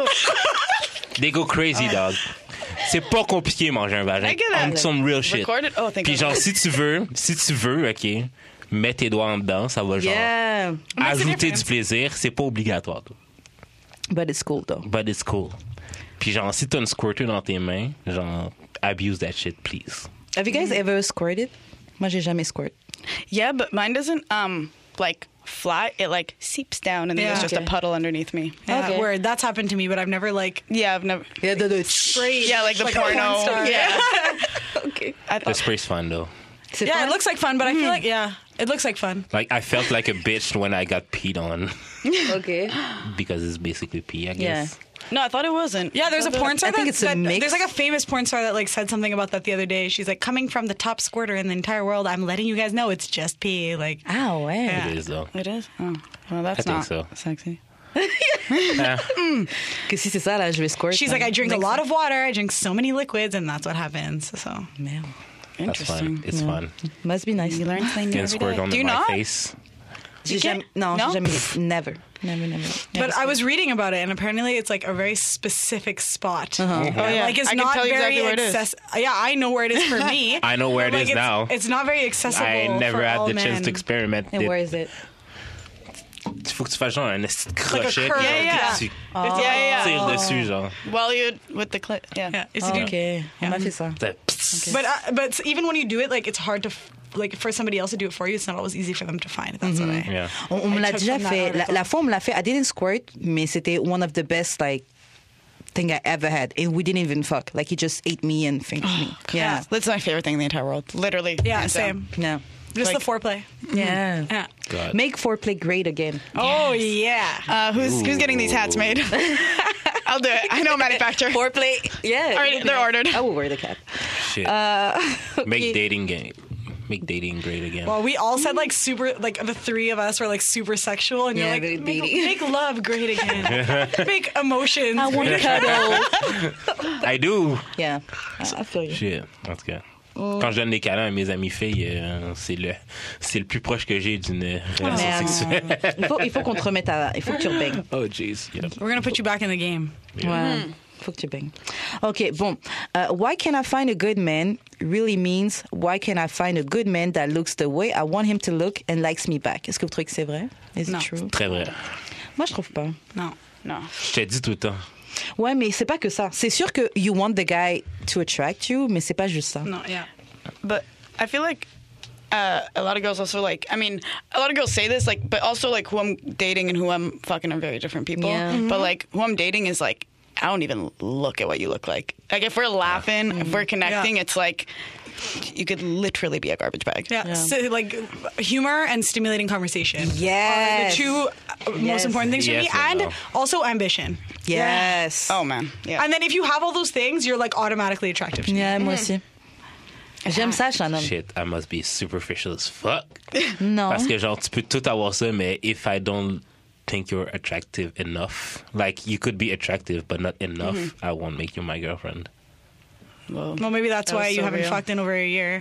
They go crazy, dog. C'est pas compliqué manger un vagin. I get it. On some real shit. Record it? Oh, thank Puis God. genre, si tu veux, OK, mets tes doigts en dedans, ça va genre Yeah. ajouter du plaisir. C'est pas obligatoire, toi. But it's cool, though. But it's cool. Puis genre, si t'as une squirter dans tes mains, genre, abuse that shit, please. Have you guys ever squirted? Moi, j'ai jamais squirt. Yeah, but mine doesn't like fly. It like seeps down, and then Yeah. there's just Okay. a puddle underneath me. Yeah, Okay. word. That's happened to me, but I've never like Yeah, I've never. Yeah, sprayed. Yeah, like the a porn porno. star. Yeah. Okay. I The thought, spray's fun, though. C'est Yeah, fun? it looks like fun, but I feel like it looks like fun. Like, I felt like a bitch when I got peed on Okay. because it's basically pee, I guess. no, I thought it wasn't. Yeah, there's a porn star. I think it's a mix. There's like a famous porn star that like said something about that the other day. She's like, coming from the top squirter in the entire world, I'm letting you guys know it's just pee. Like, Ah ouais. Yeah. It is, though. It is. Oh, well, that's I think not so. sexy. Yeah. Que si c'est ça, là, je vais squirt. she's like, I drink a lot of water, I drink so many liquids, and that's what happens. So Merde. That's Interesting. fun. It's fun. Must be nice. You learn something new Can every squirt day. on Do you my not? face. J'ai can't- jamais, non, No? j'ai jamais, never. But I was reading about it, and apparently it's like a very specific spot. Oh, yeah. Like it's I can not tell you very exactly where it is. accessible. Yeah, I know where it is for me. I know where it But, is like, now. It's not very accessible. I never for had all the chance men. to experiment And it. where is it? Il faut que tu fasses genre un esti de crochet. curve. puis Yeah, yeah. Tu Yeah, yeah. tires dessus, genre. Well, you with the clit. Yeah. Yeah, it's Ah, ok, on m'a fait ça. But even when you do it, like it's hard to like for somebody else to do it for you. It's not always easy for them to find. That's what I. Yeah. On me I l'a took déjà from that fait. article. La fois, on me l'a fait. I didn't squirt, mais c'était one of the best, like, thing I ever had. And we didn't even fuck. Like, he just ate me and fingered me. Yeah. That's my favorite thing in the entire world. Literally. Yeah, hands down. same. No. Just Like- the foreplay. Yeah. Yeah. God. Make foreplay great again. Oh yeah. Who's getting these hats made? I'll do it. I know a manufacturer. Foreplay. Yeah. Already, they're ordered. I will wear the cap. Shit. Make dating great again. Well, we all said like super, like the three of us were like super sexual, and Yeah, you're very like, beady. make love great again, make emotions. I want great cuddle. I do. Yeah. I feel you. Shit. En tout cas. Quand je donne des câlins à mes amis filles, c'est le plus proche que j'ai d'une relation Merde. sexuelle. Il faut qu'on te remette à. Il faut que tu rebaignes. Oh, jeez. Yeah. We're gonna put you back in the game. Ouais. Faut que tu baignes. OK, bon. Why can I find a good man really means why can I find a good man that looks the way I want him to look and likes me back. Est-ce que vous trouvez que c'est vrai? Is Non. it true? Très vrai. Moi, je trouve pas. No. No. Je te dis tout le temps. Ouais, mais c'est pas que ça. C'est sûr que you want the guy to attract you, mais c'est pas juste ça. No. Yeah. But I feel like a lot of girls also like. I mean, a lot of girls say this, like, but also like who I'm dating and who I'm fucking are very different people. Yeah. But like who I'm dating is like I don't even look at what you look like. Like if we're laughing, if we're connecting, Yeah. it's like you could literally be a garbage bag. Yeah. So, like humor and stimulating conversation. Yes. Are the two Yes. most important things Yes for me, and and no. also ambition. Yes. Oh man. Yeah. And then if you have all those things, you're like automatically attractive to me. Yeah, moi aussi. J'aime ça, chez un homme. Shit, I must be superficial as fuck. Non. Parce que genre, tu peux tout avoir ça, mais if I don't think you're attractive enough, like you could be attractive, but not enough, I won't make you my girlfriend. Well, Well, maybe that's That why was you so haven't real. fucked in over a year.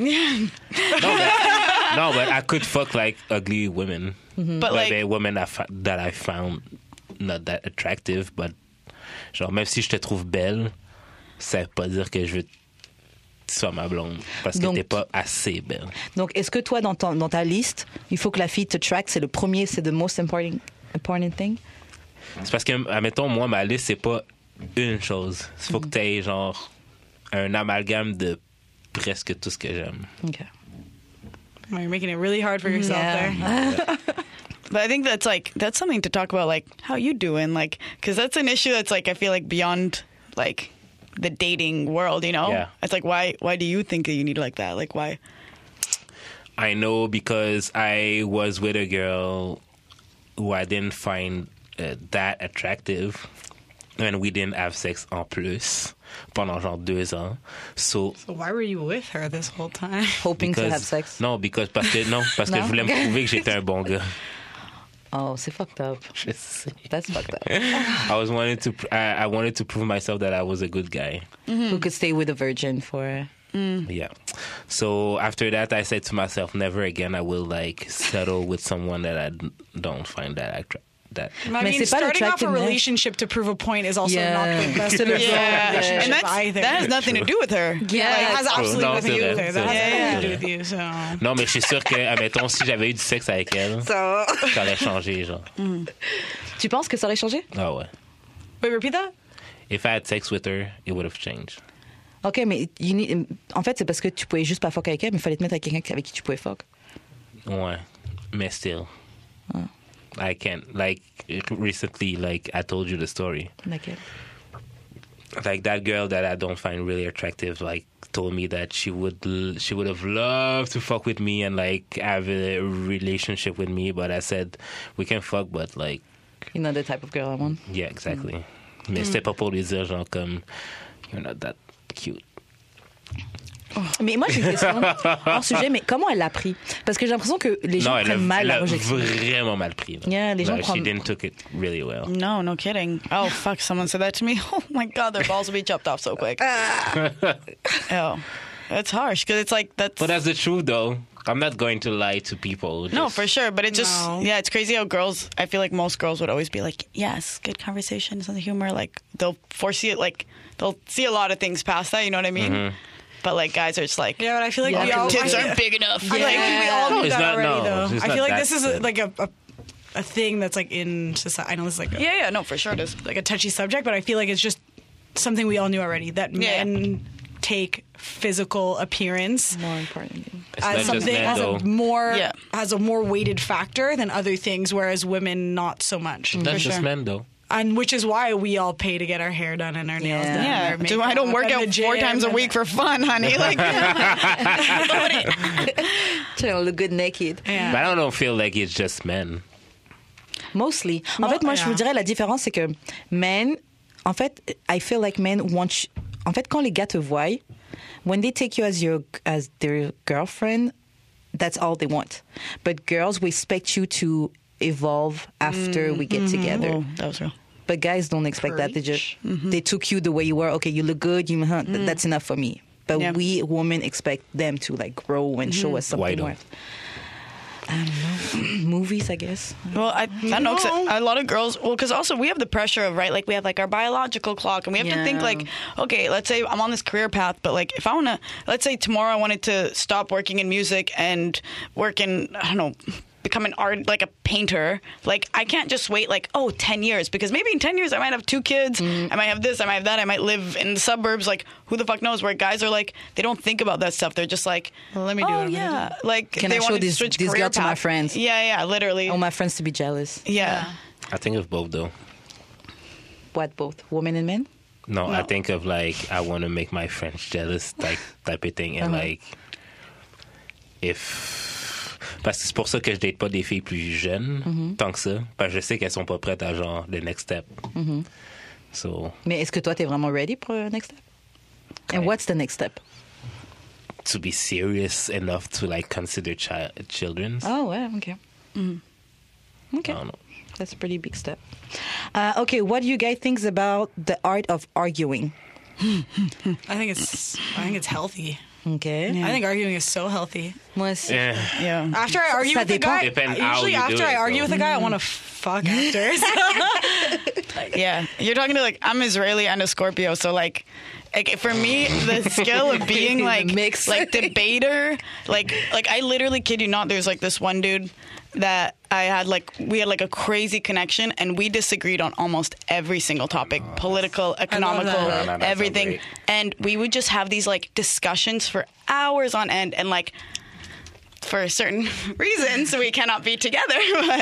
No, but I could fuck like ugly women. but Like, like women that I found not that attractive, but genre, même si je te trouve belle, ça veut pas dire que je veux que tu sois ma blonde. Parce que Donc- t'es pas assez belle. Donc, est-ce que toi, dans ta liste, il faut que la fille te track, c'est le premier, c'est the most important thing? C'est parce que, admettons, moi, ma liste, c'est pas une chose. Il faut que tu aies genre un amalgame de presque tout ce que j'aime. Okay. Well, you're making it really hard for yourself there. But I think that's something to talk about, like, how you doing, like, because that's an issue that's like I feel like beyond like the dating world, you know? Yeah. It's like why do you think that you need like that? Like why? I know because I was with a girl who I didn't find that attractive, and we didn't have sex en plus pendant genre 2 ans. So Why were you with her this whole time? Hoping to have sex. parce que je voulais me prouver que j'étais un bon gars. Oh, c'est fucked up. Je sais. That's fucked up. I wanted to prove myself that I was a good guy. Who could stay with a virgin for... Yeah. So after that, I said to myself, never again I will like settle with someone that I don't find that attractive. I Mais mean, c'est pas starting off a l'attractiveness. relationship to prove a point is also Yeah. not the best Yeah. relationship And either. that has nothing to do with her. Yeah, it has absolutely No, nothing to do with her. c'est That vrai. has Yeah. nothing to do with you. So Non, mais je suis sûr que, admettons, si j'avais eu du sexe avec elle, ça aurait changé, genre. Tu penses que ça aurait changé? Ah ouais. wait, repeat that. If I had sex with her, it would have changed. OK, mais en fait, c'est parce que tu pouvais juste pas fuck avec elle, mais il fallait te mettre avec quelqu'un avec qui tu pouvais fuck. Ouais. Mais still. I can't. Like, recently, like, I told you the story. Laquelle? Like, that girl that I don't find really attractive, like, told me that she would have loved to fuck with me and, like, have a relationship with me, but I said, we can fuck, but, like... You're not the type of girl I want. Yeah, exactly. Mais c'était pas pour lui dire, genre, comme, you're not that cute. Mais moi, j'ai une question hors sujet, mais comment elle l'a pris? Parce que j'ai l'impression que les gens Non, prennent mal la rejection. vraiment mal pris. Là. Yeah, les gens She prennent... didn't took it really well. No kidding. Oh fuck, someone said that to me. Oh my god, their balls will be chopped off so quick. Oh, it's harsh because it's like that's. But that's the truth, though. I'm not going to lie to people. No, Just- for sure, but it just No. yeah, it's crazy how girls. I feel like most girls would always be like, yes, good conversation, some humor. Like they'll foresee it, like they'll see a lot of things past that. You know what I mean? But like guys are just like, Yeah, but I feel like Yeah, we all tits I aren't big enough. feel like we all No, knew it's that not- already, no, though. it's I not feel like that this is good. like a thing that's like in society. I know this is like Yeah, no, for sure it is. like a touchy subject, but I feel like it's just something we all knew already that Yeah. men take physical appearance More important. It's as not just something men, as though. a more weighted factor than other things, whereas women not so much. That's just sure. men, though. And which is why we all pay to get our hair done and our nails Yeah. done. Yeah, and our makeup I don't work and out the 4 gym times a and- week for fun, honey. Like, Tu look good naked. Yeah. But I don't feel like it's just men. Mostly. En fait, moi, je vous dirais la différence, c'est que men, en fait, I feel like men want... En fait, quand les gars te voient, when they take you as their girlfriend, that's all they want. But girls, we expect you to evolve after we get together. oh, that was real. But guys don't expect that. They just they took you the way you were. Okay, you look good. That's enough for me. But Yeah. we women expect them to like grow and show us Why something don't? more. I don't know. Movies, I guess. Well, I know 'cause a lot of girls. Well, because also we have the pressure of right, like we have like our biological clock, and we have to think Yeah. like, okay, let's say I'm on this career path, but like if I want to, let's say tomorrow I wanted to stop working in music and work in, I don't know, become an art, like a painter. Like I can't just wait like 10 years because maybe in 10 years I might have 2 kids, I might have this, I might have that, I might live in the suburbs. Like who the fuck knows? Where guys are like they don't think about that stuff. They're just like, Well, let me do oh what I'm gonna yeah, like Can they I show want to this switch girl career to my path. friends? Yeah, literally. I want my friends to be jealous. Yeah. I think of both, though. What, both? Women and men? No, I No. think of like I want to make my friends jealous, like type of thing, and like if parce que c'est pour ça que je date pas des filles plus jeunes tant que ça, parce que je sais qu'elles sont pas prêtes à genre the next step. So Mais est-ce que toi, t'es vraiment ready pour le next step? And Okay. what's the next step? to be serious enough to like consider children. Oh, ouais, okay. Okay. I don't know. That's a pretty big step. Okay, what do you guys think about the art of arguing? I think it's healthy. Okay. I think arguing is so healthy. Moi aussi. Yeah. Yeah. After I argue Ça with a dépend. guy, Depends how usually you do after it, I argue though. with a guy, I want to fuck after. Yeah. You're talking to like, I'm Israeli and a Scorpio, so like, like for me, the skill of being like Mix. like debater, like I literally kid you not. There's like this one dude that we had like a crazy connection, and we disagreed on almost every single topic, political, economical, that. That everything. sounds And we would just have these like discussions for hours on end, and like for certain reasons we cannot be together.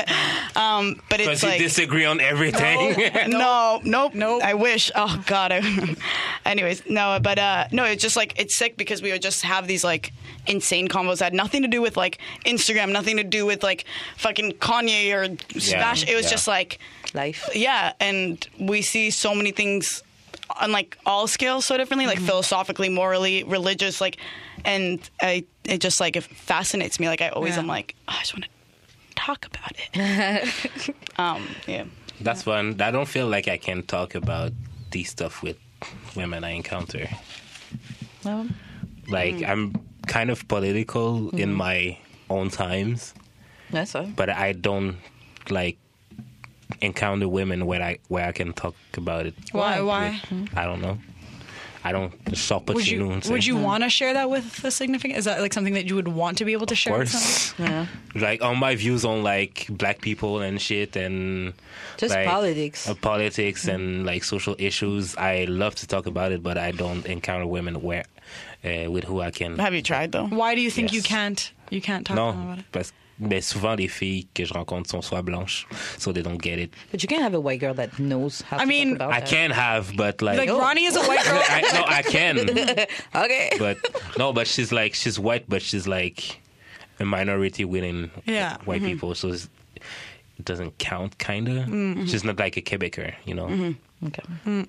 But it's Because you like disagree on everything. nope. I wish. Oh God. Anyways, no, but no, it's just like it's sick because we would just have these like insane combos that had nothing to do with like Instagram, nothing to do with like fucking Kanye or Smash. It was just like Life. yeah, and we see so many things on like all scales so differently, like philosophically, morally, religious, like, and it just like it fascinates me. Like I always am like, oh, I just want to talk about it. Yeah. That's fun. I don't feel like I can talk about these stuff with women I encounter. Well, Like I'm kind of political in my own times, that's all. but I don't like encounter women where I can talk about it. Why? I don't know. I don't shop at Would you want to share that with a significant? Is that like something that you would want to be able to share? Of with course. somebody? Yeah. Like on my views on like black people and shit and Just like, politics. politics and like social issues. I love to talk about it, but I don't encounter women where with who I can. Have you tried though? Why do you think Yes. you can't talk to them Non, about it? parce mais souvent les filles que je rencontre sont soit blanches, so they don't get it. But you can't have a white girl that knows how to mean, talk about I that. can have, but like, Like Ronnie is a white girl. I can, Okay. but she's white, but she's like a minority within Yeah. white people, so it doesn't count, kinda. She's not like a Quebecer, you know. Okay.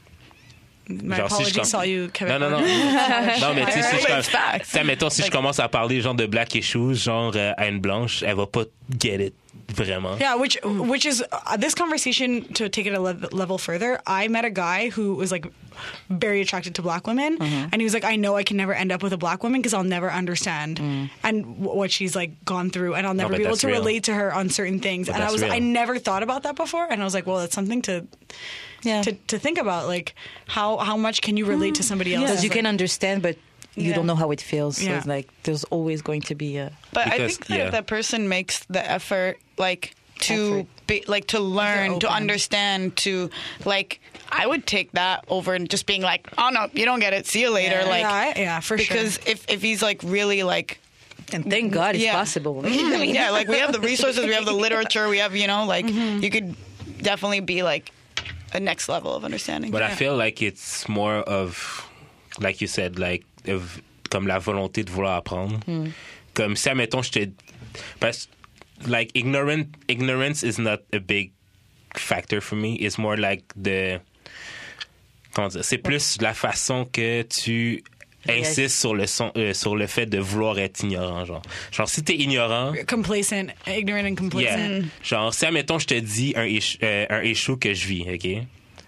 My Genre, si je apologies, com- all you Quebec. Non, mais tu sais, si But it's facts. mettons, si je commence à parler genre de black issues, genre à une blanche, elle va pas get it, vraiment. Yeah, which is this conversation, to take it a level further. I met a guy who was like very attracted to black women, and he was like, I know I can never end up with a black woman because I'll never understand and what she's like gone through, and I'll never but be able that's to real. relate to her on certain things. But And that's real. I never thought about that before, and I was like, well, that's something to think about. Like how much can you relate to somebody else? Because you Like, can understand, but you Yeah. don't know how it feels. So Yeah. it's like there's always going to be a. But I Because, think that yeah. if that person makes the effort, like to Effort. be, like to learn, to open. understand, to like, I would take that over just being like, oh no, you don't get it. See you later. Yeah. Like, yeah, for because sure. if he's like really like. And thank God it's Yeah. possible. Yeah, like we have the resources, we have the literature, we have, you know, like you could definitely be like a next level of understanding. But I feel like it's more of, like you said, like comme la volonté de vouloir apprendre. Comme si, admettons, je te... Parce like ignorance is not a big factor for me. It's more like comment dire, c'est plus la façon que tu insistes sur le fait de vouloir être ignorant, genre si t'es ignorant, Complacent, ignorant and complacent. yeah, genre si admettons je te dis un issue que je vis, ok,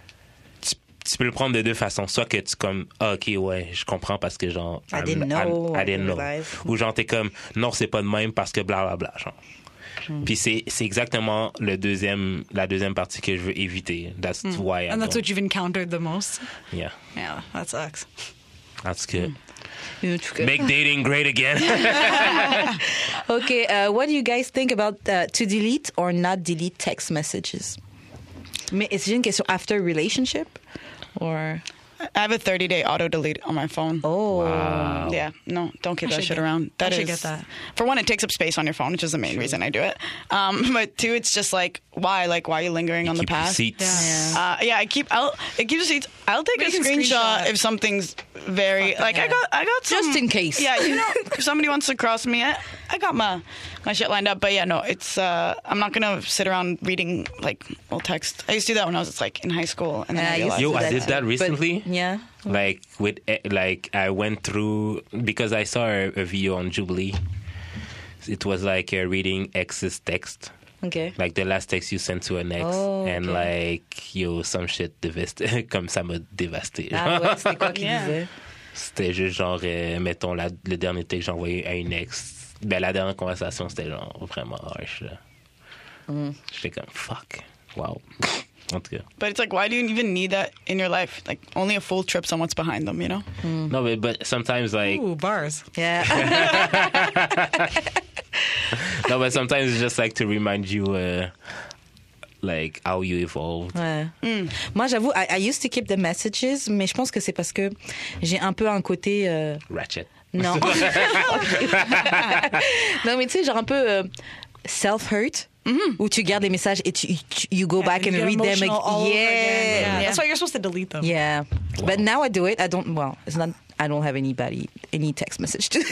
tu peux le prendre de deux façons, soit que tu comme ok ouais je comprends parce que genre I didn't know, I didn't know, realize. ou genre t'es comme non c'est pas de même parce que blablabla genre. Puis c'est exactement la deuxième partie que je veux éviter. That's why I And that's don't. what you've encountered the most. Yeah, Yeah, that sucks. that's good. Okay. Make dating great again. Okay, what do you guys think about to delete or not delete text messages? Mais est-ce une question after relationship or? I have a 30-day auto delete on my phone. Oh, Wow. Yeah, no, don't keep I that should shit get- around. I That should is, get that. for one, it takes up space on your phone, which is the main reason I do it. But two, it's just like, why? Like, why are you lingering on the Keep past? receipts. Yeah. It keeps receipts. I'll take a Making screenshot screenshot. if something's very like yeah. I got some, Just in case. Yeah, you know, if somebody wants to cross me, I got my shit lined up. But yeah, no, it's I'm not gonna sit around reading like old text. I used to do that when I was like in high school, and then Yeah, I I used realized. to Yo, do I that did too. that But, recently. yeah. Like I went through because I saw a video on Jubilee. It was like reading ex's text, Okay. like the last text you sent to an ex, Oh, and okay. like yo some shit dévasté, comme ça m'a dévasté. Ah ouais, c'était quoi qu'il Yeah. disait? C'était juste genre mettons le dernier texte que j'ai envoyé à une ex. Ben la dernière conversation c'était genre vraiment harsh. Là. J'étais comme fuck, wow. En tout cas. But it's like, why do you even need that in your life? Like, only a fool trips on what's behind them, you know? No, but sometimes like Ooh, bars. Yeah. no, but sometimes it's just like to remind you like how you evolved. Ouais. Moi, j'avoue, I used to keep the messages, mais je pense que c'est parce que j'ai un peu un côté... Ratchet. Non. Non, mais tu sais, genre un peu self-hurt, où tu gardes les messages et you go back and You get read them. emotional all over again. Yeah. Yeah. That's why you're supposed to delete them. Yeah. But now I do it. I don't, well, it's not, I don't have any text message to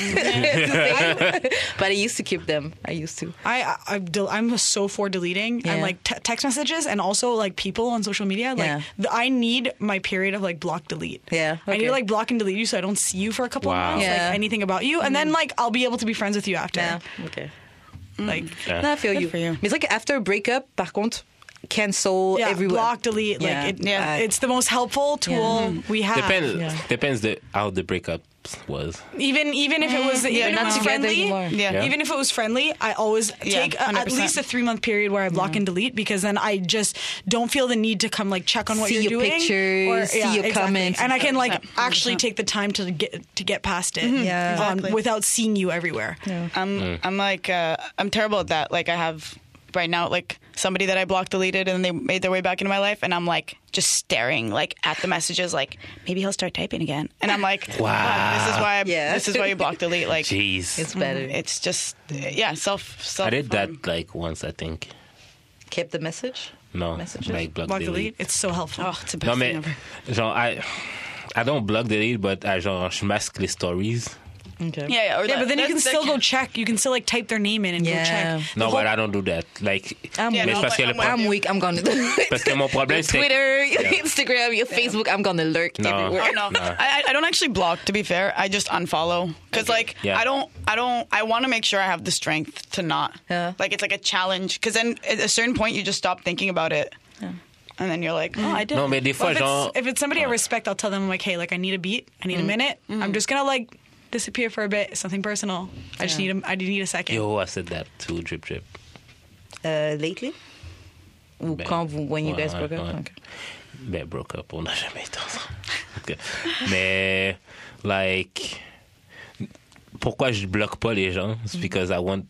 say. But I used to keep them. I used to. I'm so for deleting Yeah. and like text messages and also like people on social media. Like Yeah. I need my period of like block delete. Yeah, I need okay. to like block and delete you so I don't see you for a couple of Wow. months. Yeah. Like anything about you, and then like I'll be able to be friends with you after. Yeah. Okay. Like No, I feel Good you. for you. Mais c'est vrai qu'after a breakup, par contre, cancel yeah, everyone. block delete. Yeah. Like Yeah. it's the most helpful tool we have. Depends how the breakup was. Even if it was even if not it was together friendly, anymore. Yeah. even if it was friendly, I always take at 100%. least a 3-month period where I block and delete because then I just don't feel the need to come like check on what See you're your doing, pictures, see your comments. and I can like 100%. actually take the time to get past it, Yeah. Exactly. without seeing you everywhere. I'm like, I'm terrible at that. Like, I have right now, like, somebody that I blocked, deleted, and they made their way back into my life, and I'm like just staring like at the messages, like maybe he'll start typing again, and I'm like, Wow. God, Yeah. this is why you block delete. Like, Jeez. It's better. it's just self. I did that like once, I think. Kept the message? No, Messages? like block Block delete. delete. It's so helpful. Oh, it's the best Non, mais thing ever. genre, I don't block delete, but genre, je masque les stories. Okay. Yeah, or Yeah, but then you can that's- still that go check. You can still like type their name in and Yeah. go check. No, The but whole- I don't do that. Like, I'm Yeah, mais no, parce que but le I'm I'm weak. I'm gonna do it. Parce que mon problème, c'est Twitter, your Instagram, your Facebook. I'm gonna lurk No. everywhere. Oh, no, I don't actually block. To be fair, I just unfollow because like Yeah. I want to make sure I have the strength to not. Yeah. Like it's like a challenge because then at a certain point you just stop thinking about it, and then you're like, oh, I did. Non, mais des fois, Well, genre... if it's somebody I respect, I'll tell them like, hey, like I need a beat, I need a minute. I'm just gonna like disappear for a bit. It's something personal. I just need a second. Yo, I said that too, drip. Lately? Ou when you guys broke up? ouais. Okay. Ben, broke up, on n'a jamais été ensemble. Ok. Mais, like, pourquoi je bloque pas les gens? It's because I want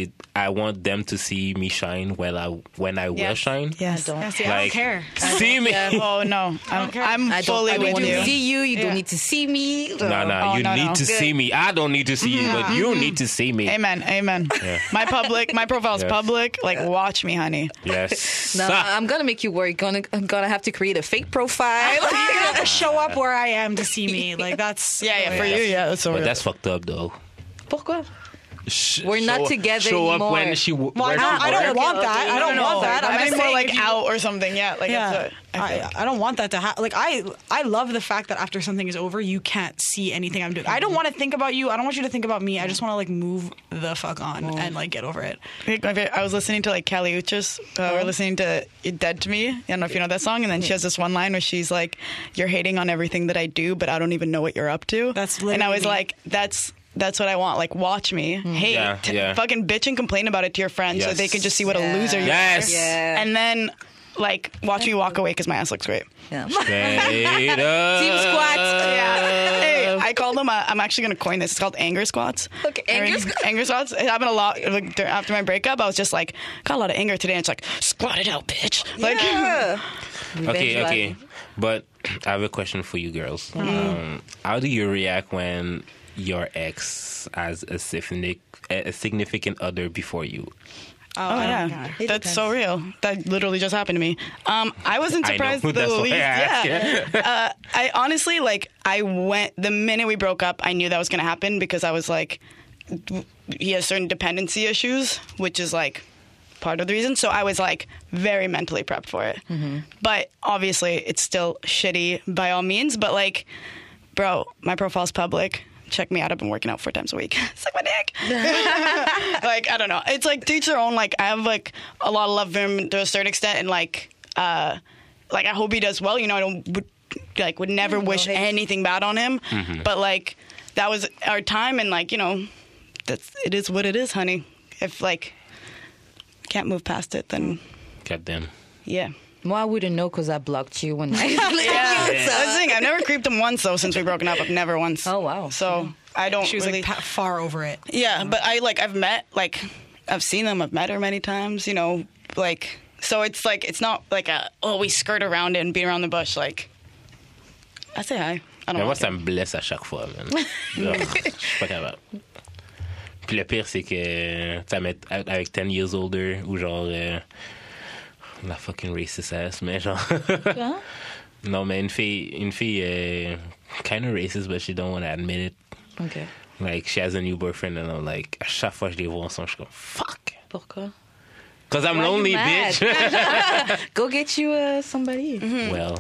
them to see me shine when I will Yes. shine. Yes. I don't. Yeah, see, I don't Like, care. See me. Oh no, I'm I fully don't with want you. to see you. You Yeah. don't need to see me. No, Oh, you no, need no. to see me. I don't need to see you, but you need to see me. Amen. Yeah. My profile's Yes. public. Like, watch me, honey. Yes. No, I'm gonna make you work. I'm gonna have to create a fake profile. You're gonna have to show up where I am to see me. Like that's Yeah, for you, yeah, that's so But real. that's fucked up, though. Pourquoi? We're not together show anymore. up when she. Well, I don't want that. I don't want that. I I'm mean, just more saying like if you- out or something. Yeah, like Yeah, that's what I feel like. I don't want that to happen. Like I love the fact that after something is over, you can't see anything I'm doing. I don't want to think about you. I don't want you to think about me. I just want to like move the fuck on and like get over it. I was listening to like Kali Uchis. We're listening to "Dead to Me." I don't know if you know that song. And then she has this one line where she's like, "You're hating on everything that I do, but I don't even know what you're up to." That's and I literally was me. like, that's what I want. Like, watch me, hate, Yeah. fucking bitch and complain about it to your friends so Yes. they can just see what a loser you Yes. are. Yeah. And then like watch me walk away because my ass looks great. Yeah. Straight up. Team squats. Yeah. Hey, I call them. I'm actually going to coin this. It's called anger squats. Okay, anger squats. Anger squats. It happened a lot like, after my breakup. I was just like, got a lot of anger today. And it's like, squat it out, bitch. Like, Yeah. Okay. But I have a question for you girls. How do you react when your ex has a significant other before you? oh yeah, God. It that's depends. so real. That literally just happened to me. I wasn't I know. surprised the That's why least. I asked, Yeah. I honestly I went the minute we broke up. I knew that was going to happen because I was like, he has certain dependency issues, which is like part of the reason. So I was like very mentally prepped for it. But obviously, it's still shitty by all means. But like, bro, my profile's public. Check me out. I've been working out 4 times a week. Suck my dick. Like, I don't know. It's like to each their own. Like, I have like a lot of love for him to a certain extent, and like I hope he does well. You know, I would never wish hate. anything bad on him. But like, that was our time, and like, you know, it is what it is, honey. If like can't move past it, then Goddamn. yeah. Moi, I wouldn't know because I blocked you when I Yeah. That's the thing. I've never creeped him once though since we've broken up. I've never once. Oh, wow. So I don't She was really. like far over it. Yeah, but I've seen them. I've met her many times. You know, like so it's like it's not like we skirt around it and beat around the bush. Like I say hi. I don't Mais moi, like ça it. me blesse à chaque fois, man. Genre, je suis pas capable. Puis le pire, c'est que, tu sais, avec 10 years older, ou genre, la fucking racist ass, mais genre. Non, mais une fille kind of racist, but she don't want to admit it. OK. Like, she has a new boyfriend, and I'm like, à chaque fois que je les vois ensemble, je suis comme, fuck. Pourquoi? Because I'm Why you lonely, mad? bitch. Go get you somebody. Well.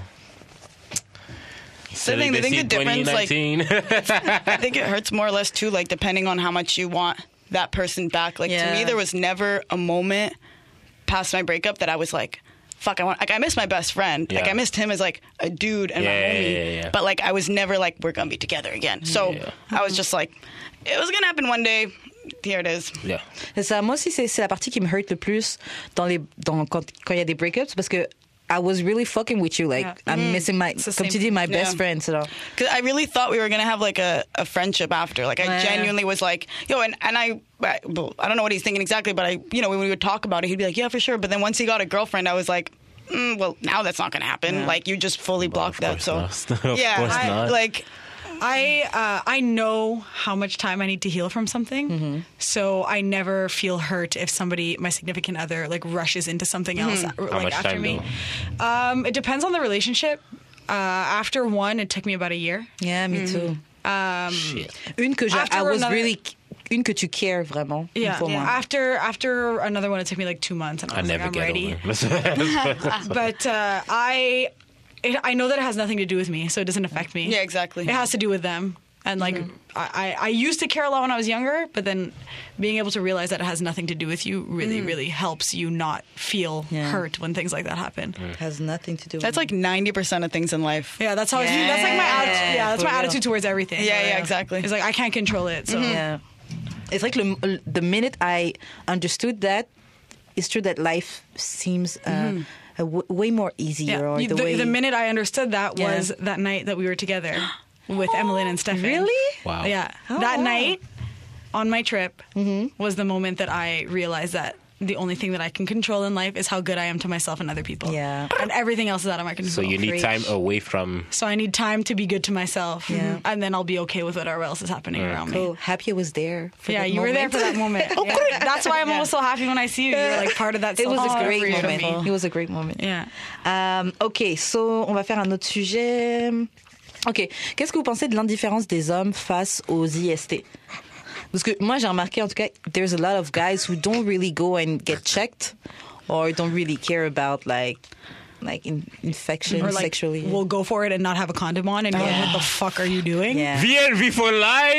So I think the difference, like, 2019. I think it hurts more or less too, like depending on how much you want that person back. Like to Yeah. me, there was never a moment past my breakup that I was like, "Fuck, I miss my best friend. Like Yeah. I missed him as like a dude and my Yeah, homie. yeah. But like I was never like we're gonna be together again. So Yeah. I was just like, it was gonna happen one day. Here it is. Yeah. C'est ça. Moi aussi, c'est la partie qui me hurt le plus quand il y a des breakups parce que I was really fucking with you. Like, Yeah. I'm missing my, the comme same. tu dis, my best Yeah. friend. So. Because I really thought we were gonna have like a friendship after. Like I Yeah. genuinely was like, yo, and I don't know what he's thinking exactly, but when we would talk about it, he'd be like, yeah, for sure. But then once he got a girlfriend, I was like, well, now that's not gonna happen. Yeah. Like you just fully blocked that. Of So course not. Of yeah, course not. like I know how much time I need to heal from something, so I never feel hurt if somebody, my significant other, like rushes into something else How like much after time, me. though? It depends on the relationship. After one, it took me about a year. Yeah, me too. Shit. Une que After I was another- really, une que tu cares vraiment. une Yeah. pour moi. After another one, it took me like 2 months, and I I was never like, I'm get ready. over. But I know that it has nothing to do with me, so it doesn't affect me. yeah, exactly. It has to do with them. And like I used to care a lot when I was younger, but then being able to realize that it has nothing to do with you really helps you not feel Yeah. hurt when things like that happen. Has nothing to do with That's like 90% of things in life. Yeah, that's how that's like my attitude. Yeah, that's for my real. attitude towards everything. Yeah, exactly. It's like I can't control it. So Yeah. It's like the minute I understood that, it's true that life seems way more easier. yeah. Or the way The minute I understood that Yeah. was that night that we were together with Emmeline and Stefan. Really? Wow. Yeah. Oh, That wow. night on my trip was the moment that I realized that the only thing that I can control in life is how good I am to myself and other people. Yeah. And everything else is out of my control. So you need Preach. time away from. So I need time to be good to myself. Yeah. And then I'll be okay with whatever else is happening around me. Cool. Happy I was there. For Yeah, that you were there moment. for that moment. Yeah. That's why I'm always so happy when I see you. You're like part of that. It was a self-discovery great for moment. me. It was a great moment. Yeah. OK, so on va faire un autre sujet. OK, qu'est-ce que vous pensez de l'indifférence des hommes face aux IST? Parce que moi, j'ai remarqué, en tout cas, there's a lot of guys who don't really go and get checked or don't really care about, like infection Or like, sexually. we'll go for it and not have a condom on, and you're like, what the fuck are you doing? Yeah. VLV for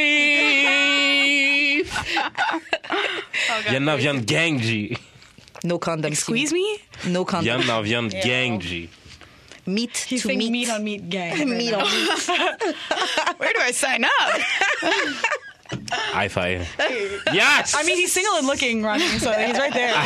life! Viens en viande gang, G. No condom. Squeeze me? No condom. Viens en viande gang, G. Meat He's to saying meat. meat on meat gang. Meat on meat. Where do I sign up? High five. Yes! I mean, he's single and looking, Ronnie, so he's right there.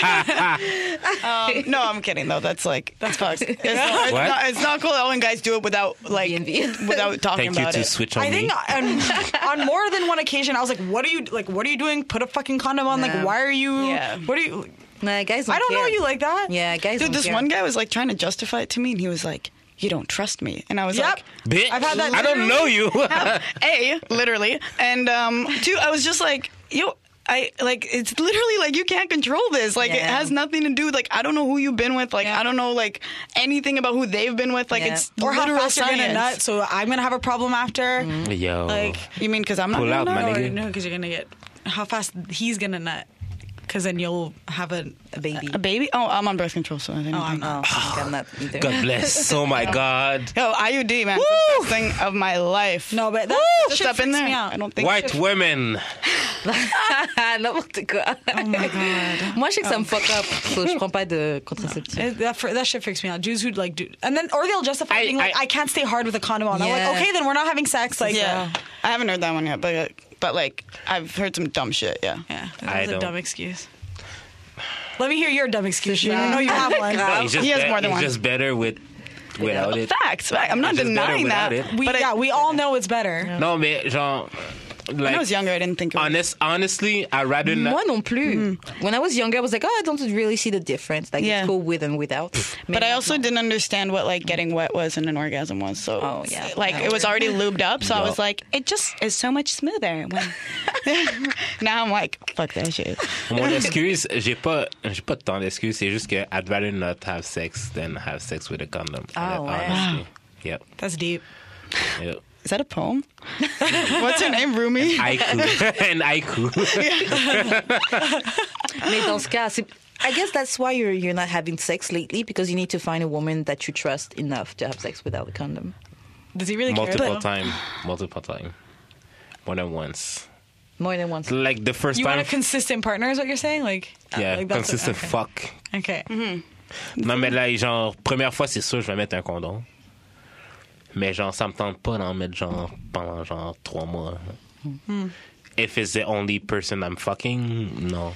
No, I'm kidding though. That's fucked. It's What? it's not cool when guys do it without like DNV. without talking Thank you about to it. switch on I me. think on more than one occasion, I was like, "What are you doing? Put a fucking condom on. Yeah. Like, why are you? Yeah. What are you? Nah, guys don't I don't know care. you like that. Yeah, guys Dude, don't this care. one guy was like trying to justify it to me, and he was like, "You don't trust me," and I was Yep. like, Bitch, I've had that I don't know you. A, literally, and two, I was just like, yo. It's literally like you can't control this. Like it Yeah. has nothing to do with like I don't know who you've been with. Like Yeah. I don't know like anything about who they've been with. Like Yeah. it's Or how literal fast you're gonna science. nut, so I'm gonna have a problem after. Yo. Like, You mean because I'm not Pull gonna out, nut, my or- nigga. no, because you're gonna get how fast he's gonna nut, because then you'll have a. A baby. A baby? Oh, I'm on birth control, so I think. Oh, I'm Oh, I think I'm not either. God bless. Oh my God. Yo, IUD, man, it's the best thing of my life. No, but that Just shit up in freaks there. me out. I don't think White women. N'importe quoi. Oh my god. Moi, je sais que ça me fuck up. So je prends pas de contraceptif. That shit freaks me out. Jews who like do, and then or they'll justify being like, I- I can't stay hard with a condom on. I'm Yeah. like, okay, then we're not having sex. Like, Yeah, I haven't heard that one yet, but like I've heard some dumb shit. Yeah. yeah, I that was a don't- dumb excuse. Let me hear your dumb excuse. I know you have one. He's just He has more than one. He's just better without it. Facts. I'm not It's just better denying that. without it. We all know it's better. Non, mais genre, When I was like, younger, I didn't think it was. honestly, I'd rather not. Moi non plus. When I was younger, I was like, I don't really see the difference. Like, Yeah. it's cool with and without. But I also didn't understand what like getting wet was and an orgasm was. So Oh, yeah. like it was already lubed up. So I Yeah. was like, it just is so much smoother. When... Now I'm like, fuck that shit. Mon excuse, j'ai pas tant d'excuses. C'est juste que I'd rather not have sex than have sex with a condom. Ah, ouais. Honestly. Yep. That's deep. Yep. Is that a poem? What's her name, Rumi? Haiku. And haiku. Mais dans ce cas, I guess that's why you're not having sex lately, because you need to find a woman that you trust enough to have sex without a condom. Does he really care? Multiple though? time. More than once. More than once. Like the first You time. want a consistent partner, is what you're saying? Like, Yeah, like that's consistent okay. fuck. Okay. Non, mais là, genre, première fois, c'est sûr, je vais mettre un condom. Mais genre, ça me tente pas d'en mettre genre pendant genre 3 mois. If it's the only person I'm fucking, no.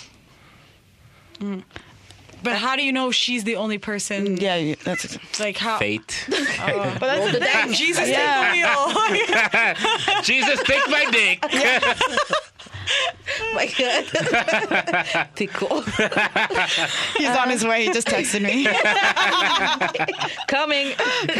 But how do you know she's the only person? Yeah, that's Like how? Fate. but that's the thing. Jesus, Yeah. take the wheel. Jesus, take my dick. Oh my God. T'es cool. He's on his way. He just texted me. Coming.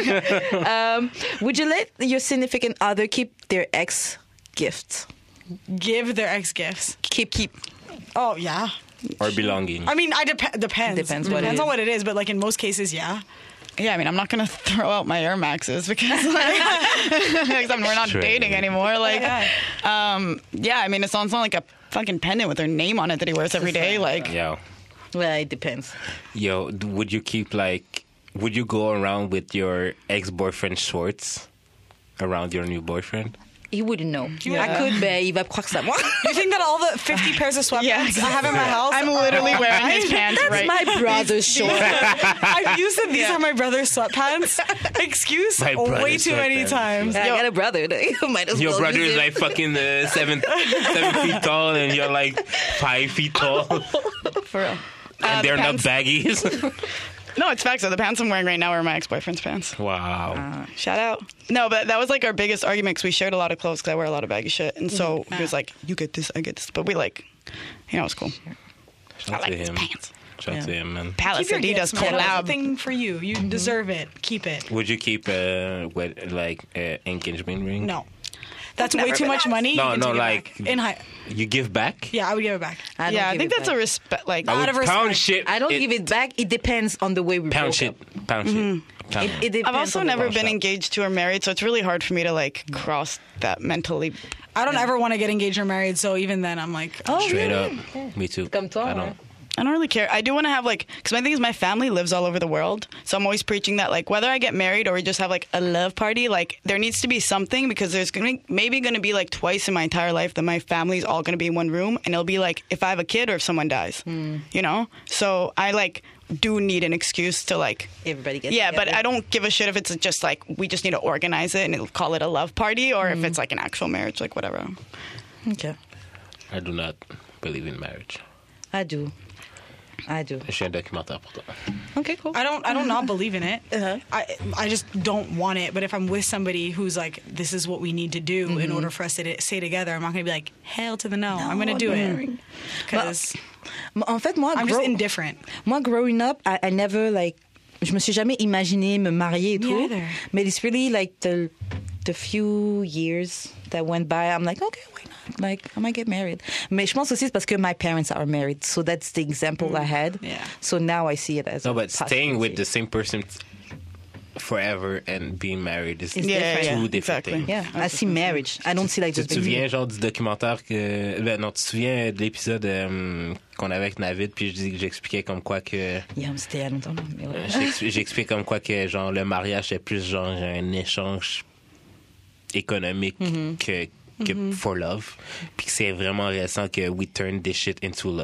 Would you let your significant other keep their ex gifts? Give their ex gifts. Keep. Oh yeah. Or belonging. I mean, depends. Depends what it Depends is. on what it is, but like in most cases, yeah. Yeah, I mean, I'm not gonna throw out my Air Maxes because like, we're not True. dating anymore. Like, yeah, I mean, it's not like a fucking pendant with her name on it that he wears every day. Like, Yo. Well, it depends. Yo, would you go around with your ex-boyfriend shorts around your new boyfriend? He wouldn't know. Yeah. I could, mais il va croire que c'est à moi. You think that all the 50 pairs of sweatpants Yeah, I have in my house? I'm literally wearing his pants That's right. my brother's short. I've used it. These are my brother's sweatpants. Excuse My way brother's too many sweatpants. times. I got a brother. You might as Your well brother use is it. like fucking 7 feet tall and you're like 5 feet tall. For real. And they're the not pants. baggies. No, it's facts. So the pants I'm wearing right now are my ex-boyfriend's pants. Wow. Shout out. No, but that was like our biggest argument because we shared a lot of clothes because I wear a lot of baggy shit. And so he was like, you get this, I get this. But we like, you know, it's cool. Shout I out like to his him. pants. Shout out to him, man. Palace Keep your Adidas gifts, man. That's collab. the thing for you. You deserve it. Keep it. Would you keep engagement ring? No. That's Never way too been much asked. money. No, You can no, take it like- back. In high. You give back? Yeah, I would give it back. I don't Yeah, I give think it that's a back. respect. Like, I Out would of respect. pound shit. I don't give it back. It depends on the way we Pound broke shit. up. Pound shit. Pound It depends I've also on the never way. been engaged to or married, so it's really hard for me to like cross that mentally. I don't ever want to get engaged or married, so even then I'm like, Oh, Straight really? up. Me too. Comme toi, I ouais. don't. I don't really care. I do want to have like, because my thing is my family lives all over the world, so I'm always preaching that like whether I get married or we just have like a love party, like there needs to be something because there's maybe going to be like twice in my entire life that my family's all going to be in one room, and it'll be like if I have a kid or if someone dies, you know. So I like do need an excuse to like. Everybody gets Yeah, but together. I don't give a shit if it's just like we just need to organize it and it'll call it a love party, or if it's like an actual marriage, like whatever. Okay. I do not believe in marriage. I do. Je suis un documentaire pour toi. Okay, cool. I don't not believe in it. Uh-huh. I just don't want it. But if I'm with somebody who's like, this is what we need to do in order for us to stay together, I'm not going to be like, hell to the no. I'm going to do it because En fait, moi, I'm just indifferent. Moi, growing up, I never like. Je me suis jamais imaginé me marier et Me tout. either. But it's really like the few years that went by, I'm like, okay, why not? Like, I might get married. Mais je pense aussi c'est parce que my parents are married, so that's the example I had. Yeah. So now I see it as No, a but staying with the possibility. same person forever and being married is It's two different. different exactly. things. Yeah, I see marriage. I don't see like Tu just te being- souviens genre du documentaire que non, tu te souviens de l'épisode qu'on avait avec Navid, puis j'expliquais comme quoi que Yeah, c'était il y a longtemps. Mais ouais. j'expliquais comme quoi que genre le mariage c'est plus genre un échange économique que for love, puis que c'est vraiment récent que we turn this shit into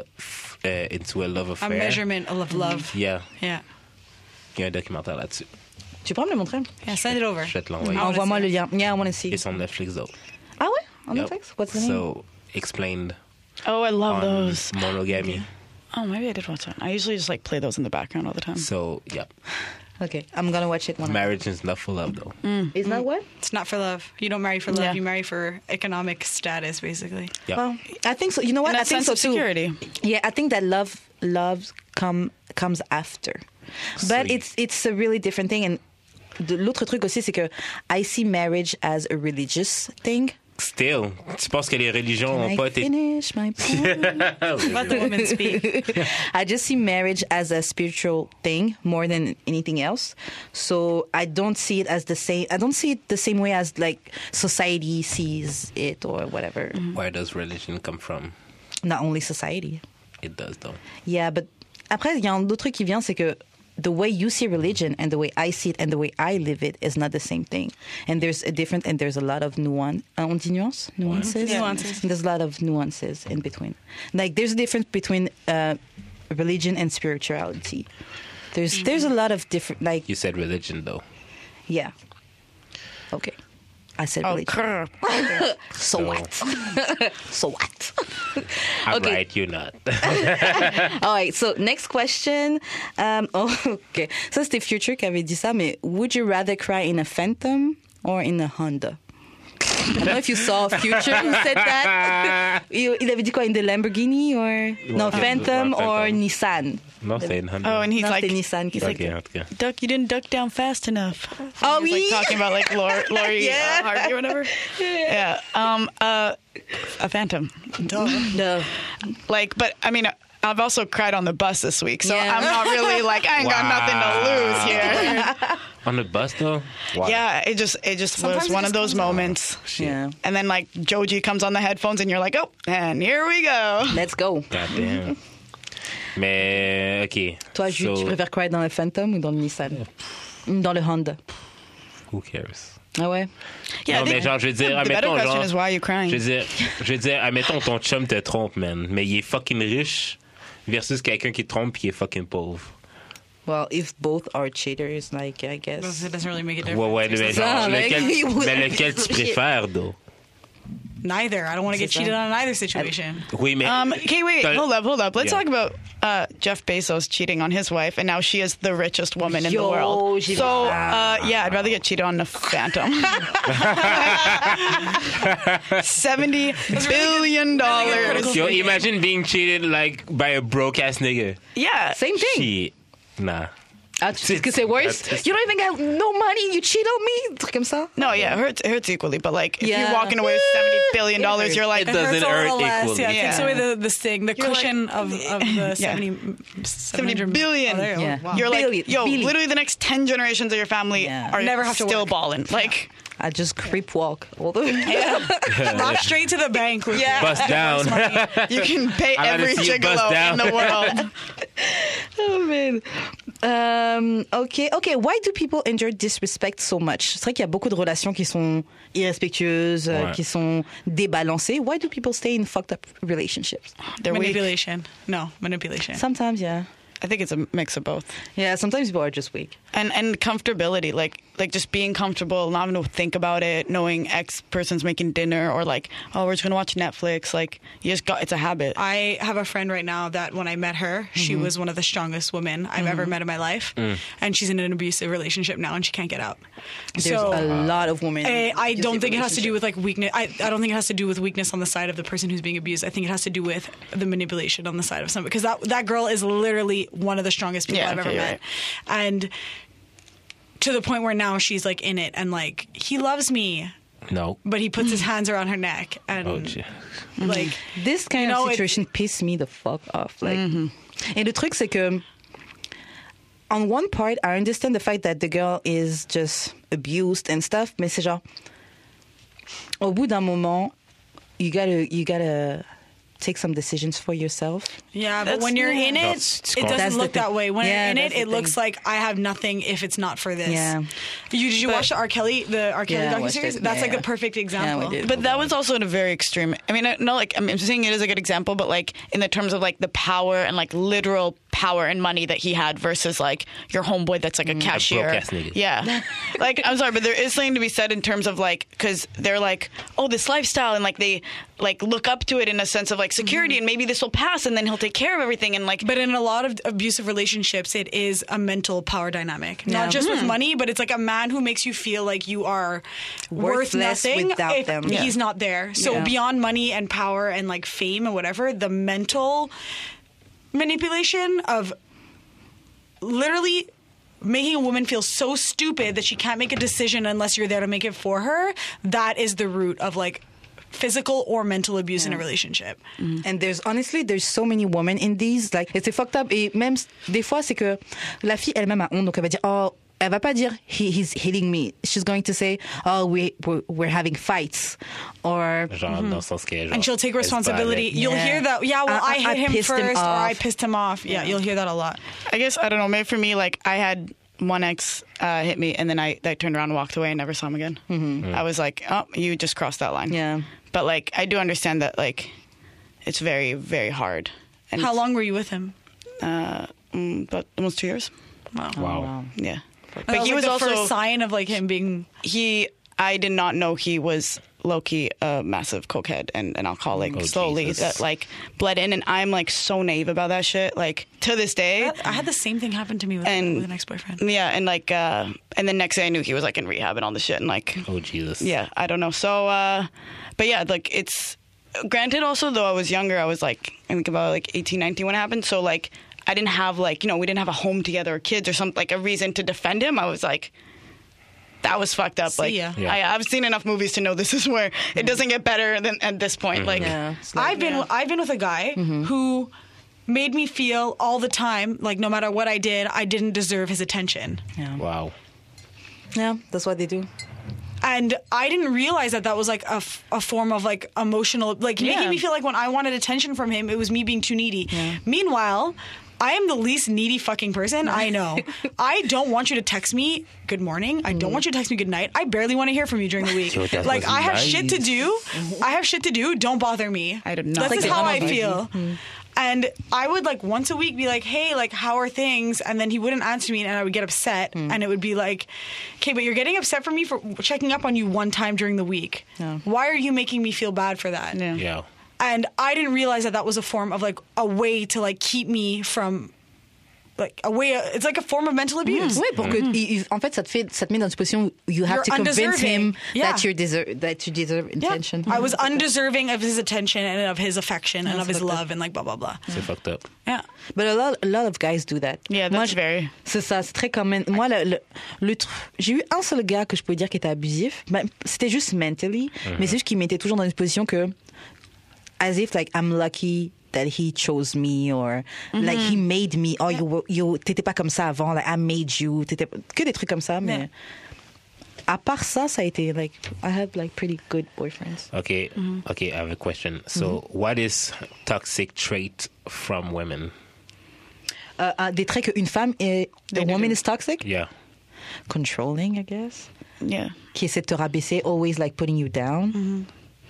a love A affair. measurement of love. Yeah, Yeah. il y a un documentaire là-dessus. Tu peux me le montrer? Yeah, send it over. Je vais te l'envoyer. Ah, Envoie-moi le lien. Yeah, I want to see. Et sur Netflix though. Ah ouais? On Yep. Netflix? What's the name? So explained Oh, I love on those. monogamy. Oh, maybe I did watch that. I usually just like play those in the background all the time. So, yeah. Okay, I'm gonna watch it one. Marriage is not for love, though. Is that what? It's not for love. You don't marry for love. Yeah. You marry for economic status, basically. Yeah. Well, I think so. You know what? And I that think sense so of too. security. Yeah, I think that love comes after, but Sweet. it's a really different thing. And l'autre truc aussi, c'est que I see marriage as a religious thing. Still, tu penses que les religions Can n'ont I pas été... finish my point? Let the women speak. I just see marriage as a spiritual thing more than anything else. So I don't see it as the same. I don't see it the same way as like society sees it or whatever. Where does religion come from? Not only society. It does, though. Yeah, but après il y a un autre truc qui vient, c'est que the way you see religion and the way I see it and the way I live it is not the same thing. And there's a lot of nuance. On dit nuance? Nuances? Yeah. Nuances. There's a lot of nuances in between. Like there's a difference between religion and spirituality. There's a lot of different, like, You said religion, though. yeah. Okay. I said Oh, religion. crap. So what? So what? I'm Okay. right, you're not. All right, so next question. Okay. Ça, c'était Future qui avait dit ça, mais would you rather cry in a Phantom or in a Honda? I don't know if you saw Future who said that. Il avait dit quoi, in the Lamborghini or... No, Phantom or Nissan. Non, c'est une Honda. Oh, and he's Non, like, c'était Nissan qui OK, en tout cas. Duck, you didn't duck down fast enough. Oh, He's oui. like talking about like Lori Yeah. Harvey or whatever. Yeah. A Phantom. No. Like, but I mean, I've also cried on the bus this week, so Yeah. I'm not really like I ain't got nothing to lose here. On the bus, though? Wow. Yeah, it just Sometimes was it one just of those comes out. moments. Yeah. And then like Joji comes on the headphones, and you're like, oh, and here we go. Let's go. God damn. Mais, OK. Toi, Jules, tu préfères cry dans le Phantom ou dans le Nissan? Dans le Honda. Who cares? Ah ouais? Yeah, non, mais genre, je veux dire, the better admettons, question genre... is why are you crying? Je veux dire, admettons, ton chum te trompe, man. Mais il est fucking riche versus quelqu'un qui te trompe et qui est fucking pauvre. Well, if both are cheaters, like, I guess. It doesn't really make a difference. Ouais, mais ça, genre, mec. lequel tu préfères, though? Neither. I don't want to get C'est ça. cheated on in either situation. Oui, mais... Okay, wait, T'as- hold up. Let's Yeah. talk about Jeff Bezos cheating on his wife, and now she is the richest woman in the Yo, world. j'ai So, vu ça. yeah, I'd rather get cheated on a Phantom. $70 billion. Yo, imagine being cheated, like, by a broke-ass nigga. Yeah. Same thing. Shit. Nah. Ah, tu sais que c'est worse? That's- You don't even got no money, you cheat on me? Un truc comme ça? No, yeah, it hurts equally, but like if Yeah. you're walking away with $70 billion, hurts. you're like, It doesn't Hurts a hurt little less. equally. Yeah, it takes Yeah. away the sting, the You're cushion of the 70 $70 billion. Oh, there, Yeah. wow. You're like, Billion. yo, Billion. literally the next 10 generations of your family Yeah. are Never have to still work. balling. Like, I just creep walk all the way. Rock straight to the bank. With Yeah. Bust down. you can pay I gotta every see you bust gigolo down. in the world. Oh man. Okay. Why do people endure disrespect so much? C'est vrai qu'il y a beaucoup de relations qui sont irrespectueuses, Ouais. qui sont débalancées. Why do people stay in fucked up relationships? They're weak. manipulation. No, manipulation. Sometimes, yeah. I think it's a mix of both. Yeah, sometimes people are just weak. And comfortability, like just being comfortable, not having to think about it, knowing X person's making dinner, or like, oh, we're just gonna watch Netflix. Like, you just got, it's a habit. I have a friend right now that when I met her, she was one of the strongest women I've ever met in my life. And she's in an abusive relationship now and she can't get out. There's so a lot of women. I in don't think it abusive has to do with like weakness. I don't think it has to do with weakness on the side of the person who's being abused. I think it has to do with the manipulation on the side of somebody. Because that girl is literally one of the strongest people Yeah, I've ever okay, met. right. And to the point where now she's like in it and like, he loves me, No. but he puts his hands around her neck and Oh, shit. like, This kind You know, of it- situation pisses me the fuck off. Like, Et le truc, c'est que, on one part, I understand the fact that the girl is just abused and stuff, mais c'est genre, au bout d'un moment, you gotta take some decisions for yourself. yeah, but That's- when you're in it, That's- it That's doesn't the look that thing. way. When Yeah, you're in that's it, the it looks thing. like I have nothing if it's not for this. Yeah. Did you watch the R. Kelly Yeah, I docuseries? watched it. That's Yeah, like yeah. the perfect example. we did. But that was also in a very extreme. I mean, no, like I'm saying it is a good example, but like in the terms of like the power and like literal power and money that he had versus like your homeboy that's like a cashier. broke-ass nigga. Yeah. Like, I'm sorry, but there is something to be said in terms of like, because they're like, oh, this lifestyle, and like they like look up to it in a sense of like security, and maybe this will pass and then he'll take care of everything, and like. But in a lot of abusive relationships, it is a mental power dynamic. Not just with money, but it's like a man who makes you feel like you are worth Worthless nothing without if them. he's not there. So Yeah. beyond money and power and like fame and whatever, the mental manipulation of literally making a woman feel so stupid that she can't make a decision unless you're there to make it for her, that is the root of like physical or mental abuse in a relationship. And there's so many women in these, like, et c'est fucked up. Et même, des fois, c'est que la fille elle-même a honte, donc elle va dire, oh, elle va pas dire, he's hitting me. She's going to say, oh, we're having fights. Or, Genre, dans le sens que, genre, And she'll take elle se bat responsibility. avec. You'll hear that. Yeah, well, I hit him pissed him first, or I off. pissed him off. Yeah, you'll hear that a lot. I guess, I don't know, maybe for me, like, I had one ex hit me, and then I turned around and walked away and never saw him again. I was like, oh, you just crossed that line. yeah. But, like, I do understand that, like, it's very, very hard. And How long were you with him? About almost 2 years. Wow. Yeah. That But he like was the also, first sign of like him being. I did not know he was low-key a massive cokehead and an alcoholic. Oh, slowly Jesus. that like bled in, and I'm like so naive about that shit. Like to this day. I had the same thing happen to me with an ex-boyfriend. Yeah, and like and the next day I knew he was like in rehab and all this shit, and like Oh, Jesus. yeah, I don't know. So but yeah, like it's granted also though I was younger, I was like I think about like 18, 19 when it happened. So like I didn't have like, we didn't have a home together or kids or something, like a reason to defend him. I was like, that was fucked up. Like ya. Yeah. I've seen enough movies to know this is where it doesn't get better than at this point. Like Yeah. It's like, I've been with a guy who made me feel all the time like no matter what I did, I didn't deserve his attention. Wow. yeah, that's what they do. And I didn't realize that was like a form of like emotional, like Yeah. making me feel like when I wanted attention from him, it was me being too needy. Meanwhile, I am the least needy fucking person I know. I don't want you to text me good morning. I don't want you to text me good night. I barely want to hear from you during the week. Yo, that Like was I have nice. shit to do. I have shit to do. Don't bother me. I did not This is think how that I was feel. And I would like once a week be like, hey, like, how are things? And then he wouldn't answer me and I would get upset. And it would be like, okay, but you're getting upset for me for checking up on you one time during the week. Yeah. Why are you making me feel bad for that? Yeah. Yeah. And I didn't realize that was a form of like a way to like keep me from like a way. It's like a form of mental abuse. Oui, pour que, en fait, ça te met dans une position où you have You're to convince undeserving. him Yeah. that you deserve Yeah. attention. I was undeserving of his attention and of his affection and of his fucked up. love and like blah blah blah. C'est fucked up. Yeah. But a lot of guys do that. Yeah, Moi, that's very. C'est ça, c'est très commun. Moi, j'ai eu un seul gars que je pouvais dire qui était abusif. Ben, c'était juste mentally, mais c'est juste qu'il m'était toujours dans une position que, as if like I'm lucky that he chose me or like he made me. Oh, t'étais pas comme ça avant. Like I made you. Que des trucs comme ça, mais. Yeah. À part ça, ça a été like I had like pretty good boyfriends. Okay. Okay, I have a question. So, what is toxic trait from women? Des traits qu'une femme est. The woman is toxic. Yeah. Controlling, I guess. Yeah. Qui essaie de te rabaisser, always like putting you down.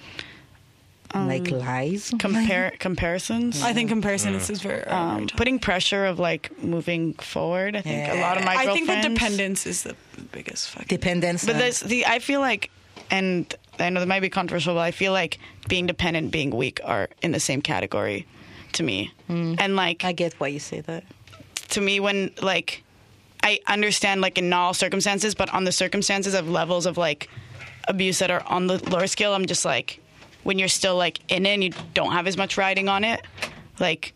Like lies. Comparisons. I think comparison is very. Putting pressure of like moving forward. I think a lot of my I think girlfriends. that dependence is the biggest fucking. Dependence. But I feel like, and I know that might be controversial, but I feel like being dependent and being weak are in the same category to me. And like, I get why you say that. to me, when like, I understand like in not all circumstances, but on the circumstances of levels of like abuse that are on the lower scale, I'm just like, when you're still like in it and you don't have as much riding on it, like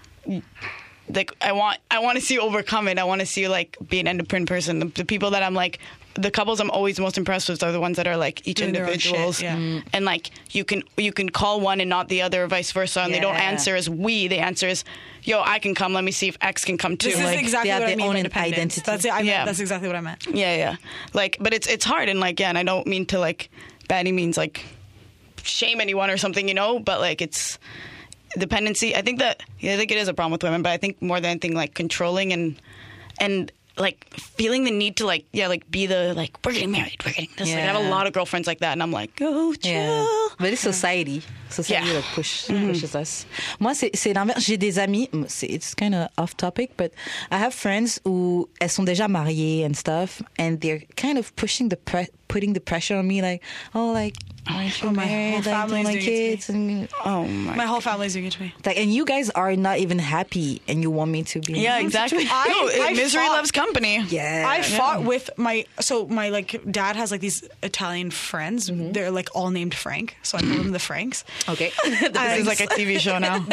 I want to see you overcome it. I want to see you like be an independent person. The people that I'm like, the couples I'm always most impressed with are the ones that are like each Doing their own shit, individuals, yeah. and like you can call one and not the other, or vice versa, and they don't Yeah. answer as we. They answer as, yo, I can come. Let me see if X can come too. This is Like, exactly they have what I their mean own by dependence. identity. That's it. Yeah. That's exactly what I meant. yeah. Like, but it's hard, and like, yeah, and I don't mean to like by any means like shame anyone or something, but like it's dependency. I think it is a problem with women, but I think more than anything like controlling and like feeling the need to like be the like we're getting married, we're getting this. Like, I have a lot of girlfriends like that, and I'm like, oh, chill. Yeah. But it's society that pushes us. Moi, c'est l'inverse. J'ai des amis. It's kind of off topic, but I have friends où elles sont déjà mariées and stuff, and they're kind of putting the pressure on me, like, oh, like, aren't you married? Like, don't like kids? And, my whole family's doing it to me. like, and you guys are not even happy, and you want me to be. Yeah, exactly. Misery loves company. Yeah. I fought with my like dad has like these Italian friends. They're like all named Frank, so I call them the Franks. Okay. This is like a TV show now.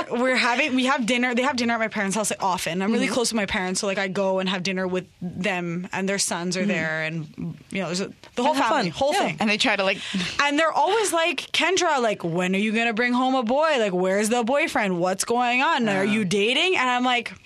we have dinner. They have dinner at my parents' house like often. I'm really close with my parents, so like I go and have dinner with them, and their sons are there, and you know, there's the whole family, thing. And they try to like, and they're always like, Kendra, like, when are you gonna bring home a boy? Like, where's the boyfriend? What's going on? Are you dating? And I'm like,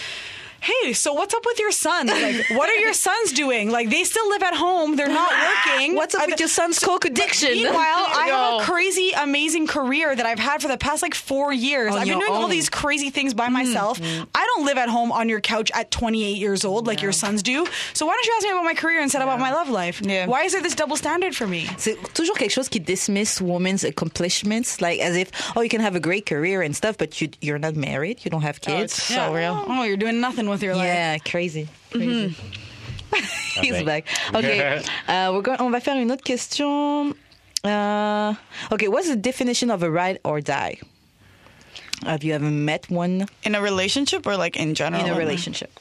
hey, so what's up with your sons? Like, what are your sons doing? Like, they still live at home. They're not working. What's up with your son's coke addiction? Meanwhile, I have a crazy, amazing career that I've had for the past, like, 4 years. I've been doing all these crazy things by myself. I don't live at home on your couch at 28 years old like your sons do. So why don't you ask me about my career instead about my love life? Yeah. Why is there this double standard for me? C'est toujours quelque chose qui dismiss women's accomplishments, like as if, oh, you can have a great career and stuff, but you're not married, you don't have kids. it's so real. Oh, you're doing nothing with your life. Yeah, crazy. He's back. Okay, on va faire une autre question. Okay, what's the definition of a ride or die? Have you ever met one In a relationship or like in general? in a relationship?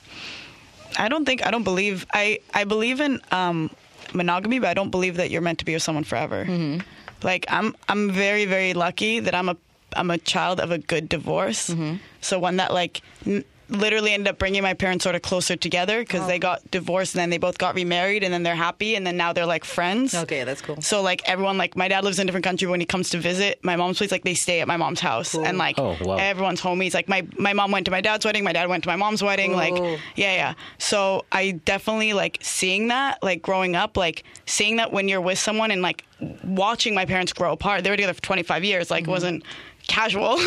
I believe in monogamy, but I don't believe that you're meant to be with someone forever. Like I'm very, very lucky that I'm a child of a good divorce. So one that like literally ended up bringing my parents sort of closer together because they got divorced and then they both got remarried and then they're happy and then now they're like friends. Okay, that's cool. So like everyone, like my dad lives in a different country. When he comes to visit my mom's place, like they stay at my mom's house and like everyone's homies. Like my mom went to my dad's wedding, my dad went to my mom's wedding. Like yeah. So I definitely like seeing that, like growing up, like seeing that when you're with someone and like watching my parents grow apart. They were together for 25 years. Like it wasn't casual.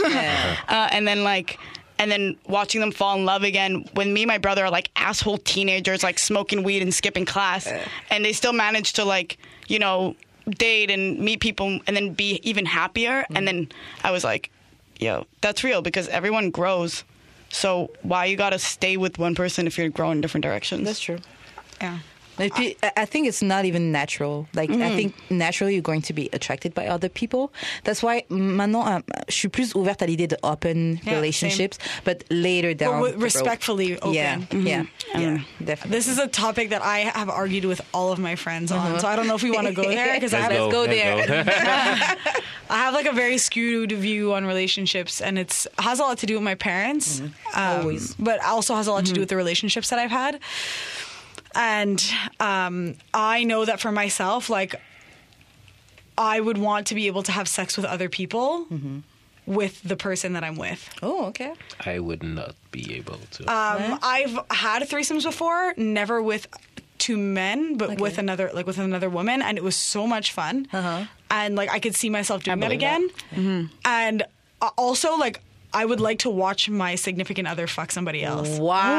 And then watching them fall in love again when me and my brother are like asshole teenagers, like smoking weed and skipping class. And they still manage to like, you know, date and meet people and then be even happier. And then I was like, yo, that's real because everyone grows. So why you got to stay with one person if you're growing in different directions? That's true. Yeah. I think it's not even natural. Like, I think naturally you're going to be attracted by other people. That's why maintenant, je suis plus ouverte à l'idée de open relationships, but later down But respectfully open. Yeah, definitely. This is a topic that I have argued with all of my friends on, so I don't know if we want to go there because Let's go there. I have like a very skewed view on relationships, and it has a lot to do with my parents, Always. but also has a lot to do with the relationships that I've had. And I know that for myself, like, I would want to be able to have sex with other people with the person that I'm with. Oh, okay. I would not be able to. I've had threesomes before, never with two men, but with another woman, and it was so much fun. And like I could see myself doing that again. And also like I would like to watch my significant other fuck somebody else.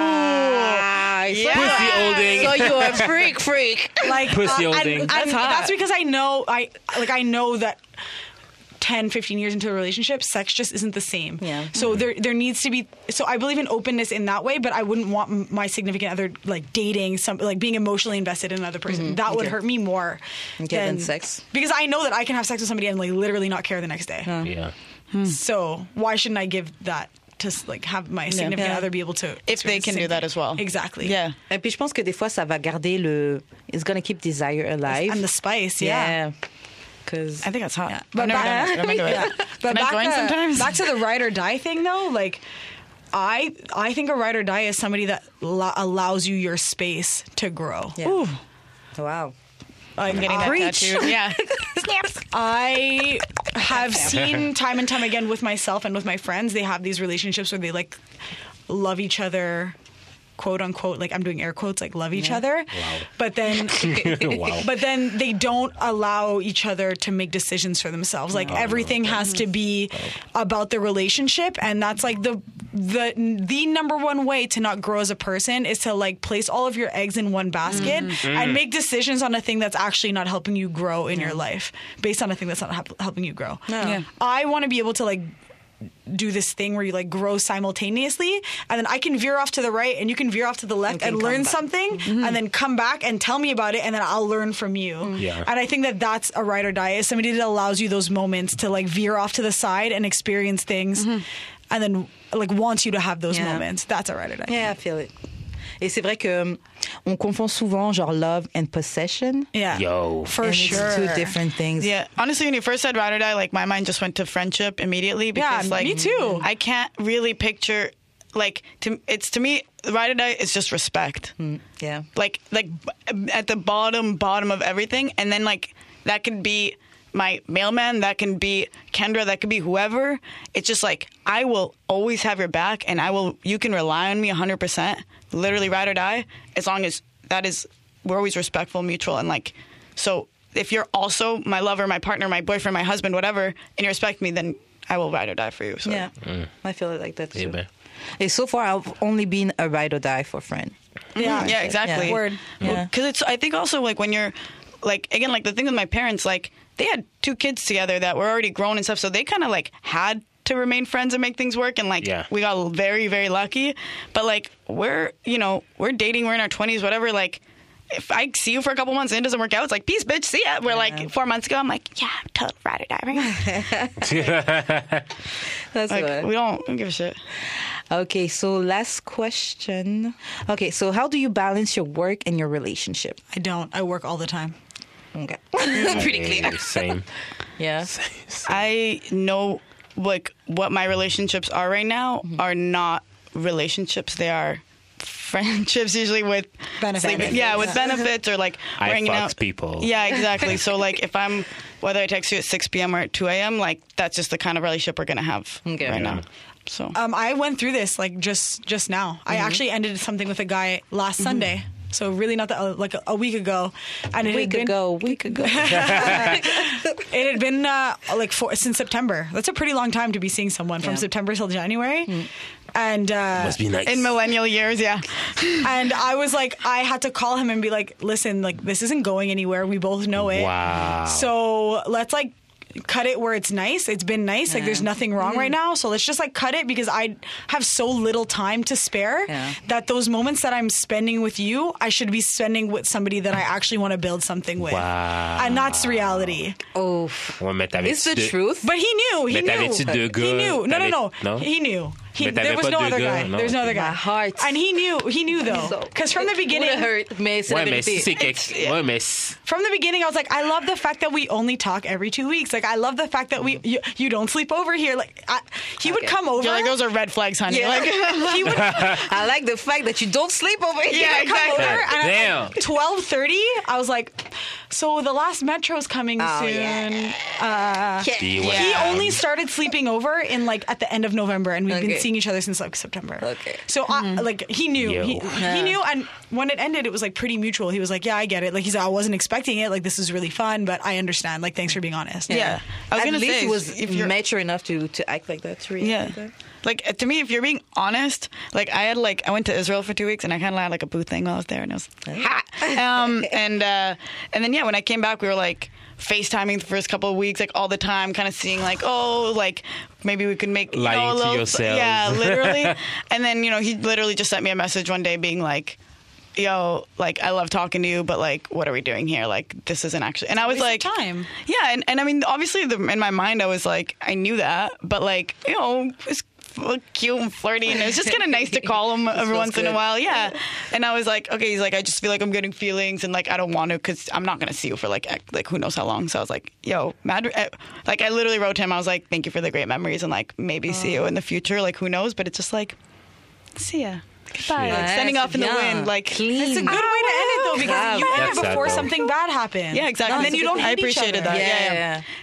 Wow. Pussy holding. So you're a freak. Like Pussy holding. and That's hot. that's because I know that 10, 15 years into a relationship, sex just isn't the same. Yeah. So there needs to be. So I believe in openness in that way, but I wouldn't want my significant other like dating like being emotionally invested in another person. That would hurt me more than sex. Because I know that I can have sex with somebody and like literally not care the next day. Yeah. So why shouldn't I give that to like have my significant other be able to If they can do that as well. Exactly. Yeah. Et puis je pense que des fois ça va garder it's gonna keep desire alive. And the spice, Because I think that's hot. Yeah. I've never done it. I'm into it. But Can I join sometimes? back to the ride or die thing, though. Like, I think a ride or die is somebody that allows you your space to grow. Yeah. Ooh. Wow. Like, I'm getting that tattooed. Yeah. I have seen time and time again with myself and with my friends, they have these relationships where they like love each other, quote unquote, like I'm doing air quotes, like love each other. Wow. But then, Wow. but then they don't allow each other to make decisions for themselves. Like everything has to be about the relationship, and that's like the the number one way to not grow as a person is to like place all of your eggs in one basket and make decisions on a thing that's actually not helping you grow in your life based on a thing that's not helping you grow. Yeah. I want to be able to like do this thing where you like grow simultaneously, and then I can veer off to the right and you can veer off to the left and learn something and then come back and tell me about it, and then I'll learn from you. Yeah. And I think that that's a ride or die, is somebody that allows you those moments to like veer off to the side and experience things and then like wants you to have those moments. That's a ride or die. Yeah, I feel it. Et c'est vrai que on confond souvent genre love and possession. Yeah. Yo. For And sure. It's two different things. Yeah, honestly, when you first said ride or die, like my mind just went to friendship immediately because, like, me too. I can't really picture, like, to me, ride or die is just respect. Yeah. Like at the bottom of everything, and then like that could be my mailman, that can be Kendra, that could be whoever. It's just like I will always have your back, and you can rely on me 100%. Literally ride or die, as long as we're always respectful, mutual, and like, so if you're also my lover, my partner, my boyfriend, my husband, whatever, and you respect me, then I will ride or die for you. So. Yeah. I feel it like that too. man. And so far, I've only been a ride or die for friend. Yeah, exactly. Yeah. Word. Yeah. Because I think also like when you're like, again, like the thing with my parents, like they had 2 kids together that were already grown and stuff, so they kind of like had to remain friends and make things work, and like we got very, very lucky. But like we're dating, we're in our 20s, whatever. Like if I see you for a couple months and it doesn't work out, it's like peace, bitch, see ya. We're like 4 months ago, I'm like, yeah, I'm totally ride or die right now. That's Like good. we don't give a shit. Okay, so last question. Okay, so how do you balance your work and your relationship? I don't. I work all the time. Okay. Pretty clear. Same. Yeah. I know like what my relationships are right now are not relationships. They are friendships, usually with Benefits. sleeping- yeah, with benefits or like I we're hanging fucks out. people. Yeah, exactly. So like if whether I text you at 6 p.m. or at 2 a.m., like that's just the kind of relationship we're gonna have right now. So I went through this like just now. I actually ended something with a guy last Sunday. So really not that, like a week ago. And it Week ago. It had been since September. That's a pretty long time to be seeing someone from September till January. And Must be nice. in millennial years, yeah. and I was like, I had to call him and be like, listen, like this isn't going anywhere. We both know it. Wow. So let's like cut it where it's nice. It's been nice. Like there's nothing wrong right now. So let's just like cut it, because I have so little time to spare that those moments that I'm spending with you, I should be spending with somebody that I actually want to build something with. Wow. And that's the reality. Oh. Ouais, mais It's the t'avais-tu truth. But he knew. He Mais knew. t'avais-tu 2 gars? He knew. No. No? He knew. Mais There t'avais was pas no 2 other gars? guy. Non, There's no ok. other guy. My heart. And he knew though. Because from the beginning, Would hurt, mais c'est la Ouais, mais vérité. si c'est quelque... Ouais, mais si- from the beginning, I was like, I love the fact that we only talk every 2 weeks. Like, I love the fact that you don't sleep over here. Like, he would come over. You're like, those are red flags, honey. Yeah. Like, he would I like the fact that you don't sleep over here. Yeah, come exactly. over, and Damn. at 12:30, I was like, so the last metro's coming soon. Yeah. Puis, ouais. He only started sleeping over in like at the end of November, and we've been Okay. seeing each other since like September. Okay. So like he knew, Yo. he knew, and when it ended, it was like pretty mutual. He was like, "Yeah, I get it." Like he said, "I wasn't expecting it. Like this is really fun, but I understand. Like thanks for being honest." yeah. I was At gonna least say, he was if you're mature enough to act like that. To react Yeah. like that. Like to me, if you're being honest, like I went to Israel for 2 weeks and I kind of had like a booth thing while I was there, and it was hot. And then when I came back, we were like FaceTiming the first couple of weeks, like all the time, kind of seeing like, oh, like maybe we could make Lying a to little, yourselves. yeah, literally. And then he literally just sent me a message one day being like, yo, like I love talking to you, but like what are we doing here? Like this isn't actually. And I was like, time. yeah, and I mean obviously in my mind I was like I knew that, but like it's cute and flirty, and it was just kind of nice to call him every once in a good. while. Yeah. And I was like, okay, he's like, I just feel like I'm getting feelings, and like I don't want to, because I'm not gonna see you for like who knows how long. So I was like, yo, like I literally wrote to him, I was like, thank you for the great memories, and like maybe see you in the future, like who knows, but it's just like, see ya. Goodbye. Shit. Like standing Ouais, off in the c'est bien. wind, like Clean. It's a good way to end it though, because Grave. you end That's it sad, before though. something bad happens. Yeah, exactly. And then you don't I hate each appreciated other. that. Yeah. Yeah.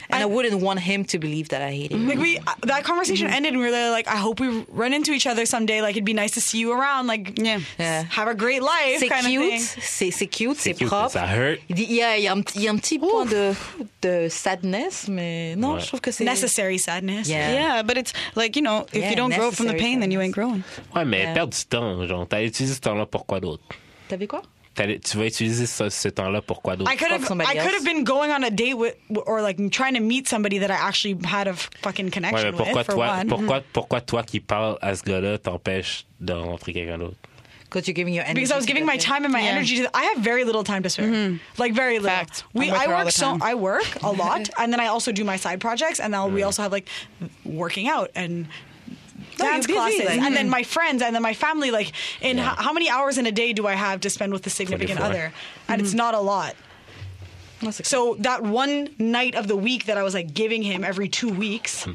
And I wouldn't want him to believe that I hated him. Like that conversation ended, and we were like, I hope we run into each other someday. Like, it'd be nice to see you around. Like, have a great life. C'est kind cute, of thing. c'est cute, c'est cute, propre. ça hurt. Il y a un petit point de sadness, mais non, je trouve que c'est Necessary sadness. Yeah, but it's like, you know, if you don't grow from the necessary pain, then you ain't growing. Ouais, mais perdre du temps, genre, t'as utilisé ce temps-là pour quoi d'autre? T'avais quoi? Tu vas utiliser ce temps-là pour quoi d'autre? I could have been going on a date with, or like trying to meet somebody that I actually had a fucking connection Ouais, mais pourquoi with. For one. pourquoi toi qui parles à ce gars-là t'empêches de rencontrer quelqu'un d'autre? Because you're giving your energy. Because I was giving my time and my energy to. I have very little time to spare. Like very little. Fact. I'm with I her all work the time. I work a lot, and then I also do my side projects, and now we also have like working out and dance you're busy, classes, like- and then my friends, and then my family. Like, in how many hours in a day do I have to spend with the significant 24. other? And it's not a lot. So that one night of the week that I was like giving him every 2 weeks,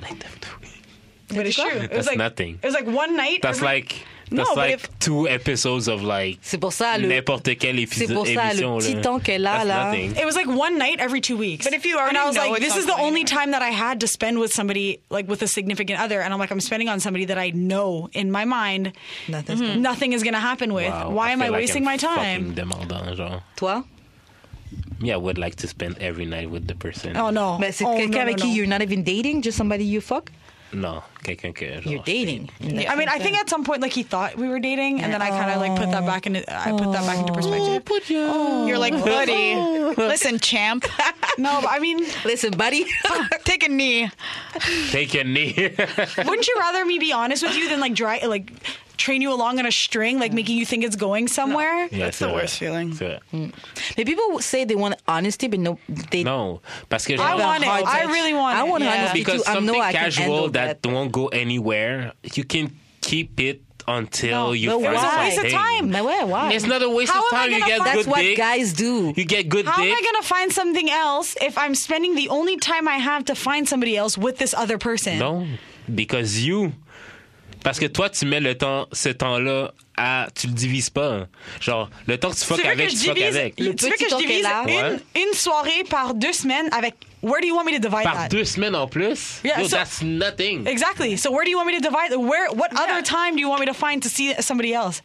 but it's true. It was That's like nothing. It was like one night. That's like 2 episodes of like C'est pour ça, n'importe quelle c'est pour ça, le émission. petit là. temps qu'elle a, That's là. nothing. It was like one night every 2 weeks. But if you already and I was know like, it's this is not the going only anywhere. time that I had to spend with somebody, like with a significant other. And I'm like, I'm spending on somebody that I know in my mind nothing is going to happen with. Wow, Why am I feel like wasting I'm my time? fucking demandant, genre. Toi? Me, I would like to spend every night with the person. Oh no. Mais c'est Oh, quelqu'un avec no. qui you're not even dating, just somebody you fuck? Non, quelqu'un que genre, You're dating. I mean, I think at some point, like he thought we were dating, and then I kind of like put that back into perspective. You're like, buddy, listen, champ. No, but I mean, Listen, buddy. Take a knee. Take a knee. wouldn't you rather me be honest with you than like train you along on a string, like making you think it's going somewhere? Yeah, That's c'est the vrai. worst feeling. C'est vrai. Mais people say they want honesty, but no, they Non, parce que I genre, want it. hard I touch. really want I it. want Yeah. honesty because too. I know something I can casual handle that won't go anywhere, you can keep it until you but find why? something. It's a waste of time. Mais ouais, why? It's not a waste How of am I time. You gonna get find- good That's what dick. guys do. You get good How dick. am I going to find something else if I'm spending the only time I have to find somebody else with this other person? Non, because you. Parce que toi, tu mets ce temps-là tu le divises pas. Genre, le temps que tu fuck Tu veux avec, que tu je fuck divise, avec. tu veux petit que je temps divise qu'elle a. Ouais. une soirée par 2 semaines avec. Where do you want me to divide Par that? 2 semaines en plus? Yeah, Yo, so- that's nothing. Exactly. So where do you want me to divide? What other time do you want me to find to see somebody else?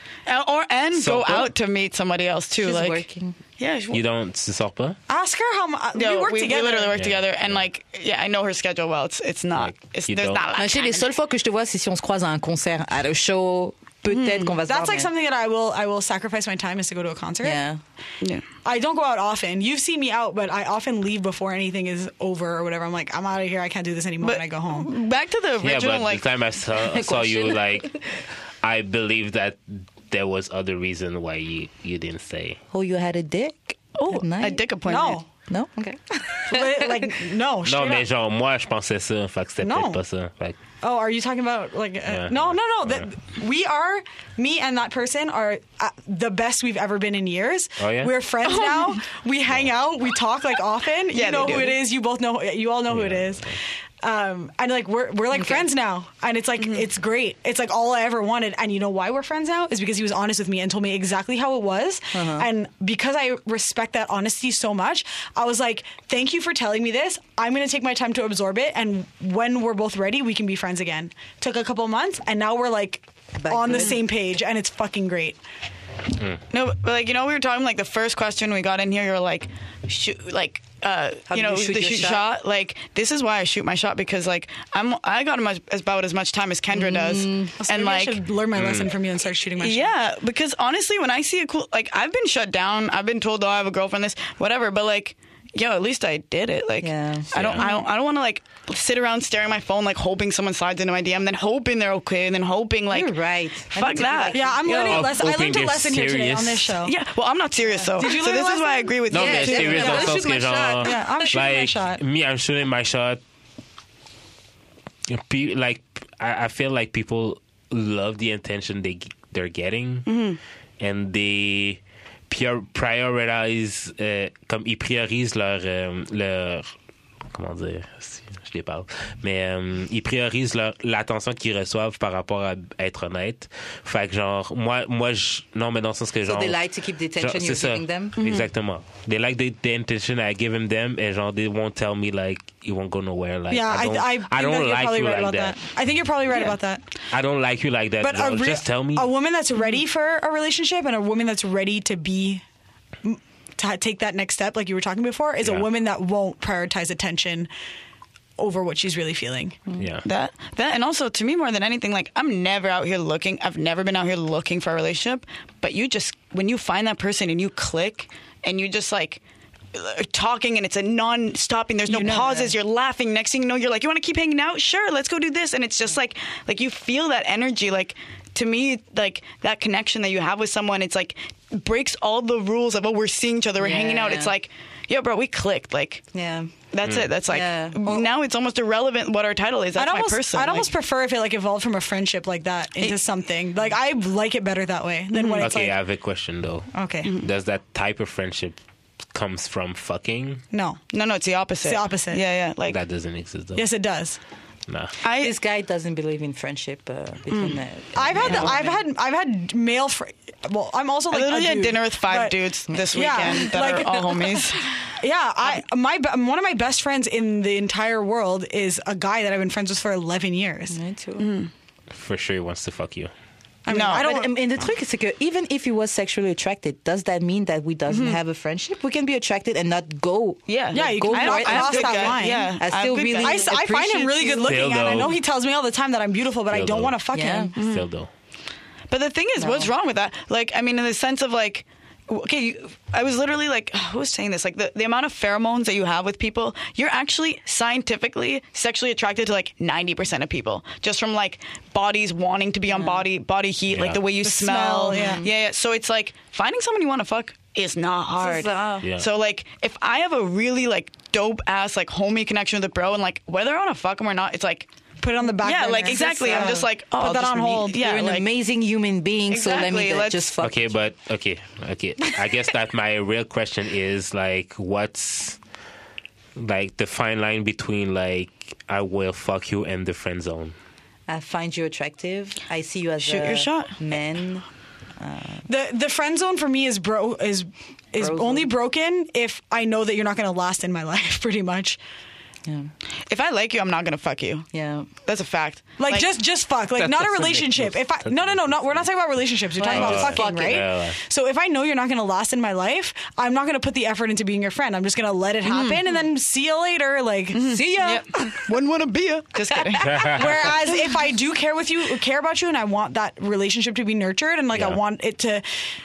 And So- go out to meet somebody else too. She's like, working. yeah, Tu sors pas? Ask her how much. No, we work we together. literally work Yeah. together, and like, yeah, I know her schedule well. It's not. Like, It's you there's don't- not. a lot Mais of chez les time. seules fois que je te vois, c'est si on se croise à un concert, à un show. Peut-être qu'on va se voir. That's like mais- something that I will sacrifice my time is to go to a concert. Yeah. Yeah. I don't go out often. You've seen me out, but I often leave before anything is over or whatever. I'm like, I'm out of here. I can't do this anymore. But And I go home. back to the Yeah, original, but like, the time I saw you, Question. like, I believe that there was other reason why you didn't say. Oh, you had a dick? oh, at night? a dick appointment. No. No? Okay. Like, no. Non, straight mais up. genre, moi, je pensais ça. Fait que c'était Non. peut-être pas ça. Fait que- Oh, are you talking about like? Yeah. No. We are, me and that person are the best we've ever been in years. Oh, yeah? We're friends now. We hang out. We talk like often. Yeah, You know they who do. it is. You both know. You all know who it is. And like we're like friends now, and it's like it's great. It's like all I ever wanted. And you know why we're friends now is because he was honest with me and told me exactly how it was. And because I respect that honesty so much, I was like, "Thank you for telling me this. I'm going to take my time to absorb it, and when we're both ready, we can be friends again." Took a couple months, and now we're like Back on the good. same page, and it's fucking great. No, but like, you know, we were talking like the first question we got in here. You're like, shoot, like, do you know, you shoot the your shoot shot? shot. Like, this is why I shoot my shot, because like I got about as much time as Kendra does, So and maybe like, I should learn my lesson from you and start shooting my shot. yeah, because honestly, when I see a cool, like, I've been shut down. I've been told, oh, I have a girlfriend, this, whatever. But like, yo, at least I did it. Like, Yeah. I don't want to like sit around staring at my phone, like hoping someone slides into my DM, then hoping they're okay, and then hoping like, You're right. I fuck need to be that. like Yeah, I'm learning a Yo, lesson. I hoping learned a they're lesson here today on this serious. show. Yeah, well, I'm not serious though. Did you so learn this a is why I lesson? agree with Non, you. mais Yeah, serious yeah, dans le I'll sens shoot my que genre. shot. Yeah, I'm shooting my like, shot. Me, I'm shooting my shot. Like, I feel like people love the attention they're getting, and they prioritize, comme ils priorisent leur comment dire, je les parle. Mais ils priorisent l'attention qu'ils reçoivent par rapport à être honnête. Fait que genre, moi, non, mais dans le sens que genre... So they like to keep the attention genre, you're c'est giving ça. them? Exactement. They like the attention I give them, et genre, they won't tell me, like, you won't go nowhere. Like, Yeah, I think that don't you're like probably you right like about that. I think you're probably right about that. I don't like you like that. But Girl. Just tell me. a woman that's ready for a relationship and a woman that's ready to take that next step, like you were talking before, is a Yeah. woman that won't prioritize attention over what she's really feeling. Yeah. That and also to me more than anything, like I'm never out here looking. I've never been out here looking for a relationship. But you just when you find that person and you click and you just like talking and it's a non-stopping. There's no pauses. You're laughing. Next thing you know, you're like, you want to keep hanging out? Sure, let's go do this. And it's just like you feel that energy. Like to me, like that connection that you have with someone, it's like breaks all the rules of we're seeing each other, we're hanging out. It's like, yo, bro, we clicked. Like, Yeah. that's it. That's like now it's almost irrelevant what our title is. That's my person. I'd almost prefer if it like evolved from a friendship like that into something. Like I like it better that way than when it's Okay, like I have a question though. okay, Does that type of friendship comes from fucking? no, No, it's the opposite. It's the opposite. Yeah. Like That doesn't exist though. yes, it does. Nah. This guy doesn't believe in friendship between I've had male. Well, I'm also I like literally a had dude, dinner with 5 but- dudes this Yeah, weekend that like- are all homies. Yeah, one of my best friends in the entire world is a guy that I've been friends with for 11 years. Me too. For sure he wants to fuck you. I mean, No, I don't. And the truc, c'est que even if he was sexually attracted, does that mean that we doesn't have a friendship? We can be attracted and not go. Yeah. Yeah, you go can for cross it. cross good that guy. line. Yeah. I still have good really- guys. I find him really good looking, Still, and I know though. he tells me all the time that I'm beautiful, but I Still, don't though. want to fuck Yeah. him. Still though. But the thing is, what's wrong with that? Like, I mean, in the sense of like, okay, I was literally like, who was saying this? Like the amount of pheromones that you have with people, you're actually scientifically sexually attracted to like 90% of people, just from like bodies wanting to be on body heat, like Yeah. the way you The smell. smell, yeah. So it's like finding someone you want to fuck is not hard. Yeah. So like, if I have a really like dope ass like homie connection with a bro, and like whether I want to fuck him or not, it's like. Put it on the back. Yeah, burner. like exactly. I'm just like, oh, put I'll that just on hold. meet- Yeah, You're an like, amazing human being, so let Exactly, me let's- just fuck. Okay, but okay. I guess that my real question is like, what's like the fine line between like I will fuck you and the friend zone? I find you attractive. I see you as Shoot a your shot. man. The friend zone for me is Bro only zone. broken if I know that you're not going to last in my life. Pretty much. Yeah, if I like you, I'm not gonna fuck you. yeah. That's a fact. Like just fuck. Like That not a doesn't make relationship. no If I no, we're not talking about relationships. We're talking Like, about just fucking, fucking. right? Yeah. So if I know you're not going to last in my life, I'm not going to put the effort into being your friend. I'm just going to let it happen and then see you later. Like see ya. Wouldn't want to be a. Just kidding. Whereas if I do care about you, and I want that relationship to be nurtured, and like I Yeah. want it to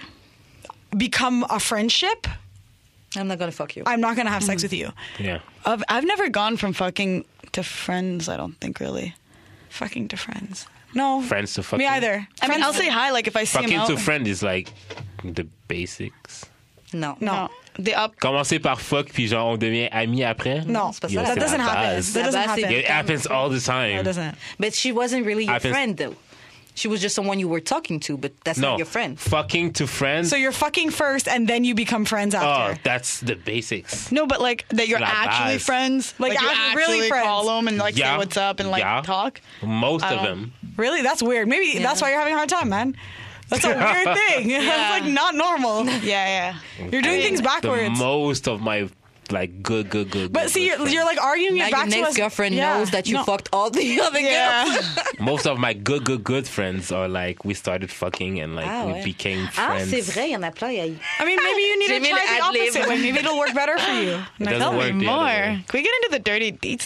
become a friendship, I'm not gonna fuck you. I'm not going to have sex with you. Yeah. I've never gone from fucking to friends. I don't think really. Fucking to friends. No. Friends to fucking. Me either. I mean, I'll say hi. Like if I see him Fucking out. to friend is like the basics. No, No. The up. Commencer par fuck puis genre on devient amis après. No. c'est pas Yo, ça. c'est That doesn't la happen. base. That doesn't La base, c'est- happen. It happens all the time. That doesn't. But she wasn't really your Happens- friend, though. She was just someone you were talking to, but that's No, not your friend. fucking to friends. So you're fucking first, and then you become friends Oh, after. that's the basics. No, but like that you're La actually base. friends. Like, you actually really friends. call them and like say what's up and like Yeah. talk. Most I of don't- them. Really? That's weird. Maybe that's why you're having a hard time, man. That's a weird thing. That's like not normal. Yeah. You're doing things The backwards. most of my like good. But see, you're like arguing Now it your back to next us. girlfriend Yeah. knows that you No. fucked all the other Yeah. girls. most of my good friends are like we started fucking and like Ah, we ouais. became Ah, friends. c'est vrai, il y en a plein. I mean, maybe you need J'ai to mis try le the ad-lib. opposite way. Maybe it'll work better for you. It doesn't Tell work me the other more. way. Can we get into the dirty deets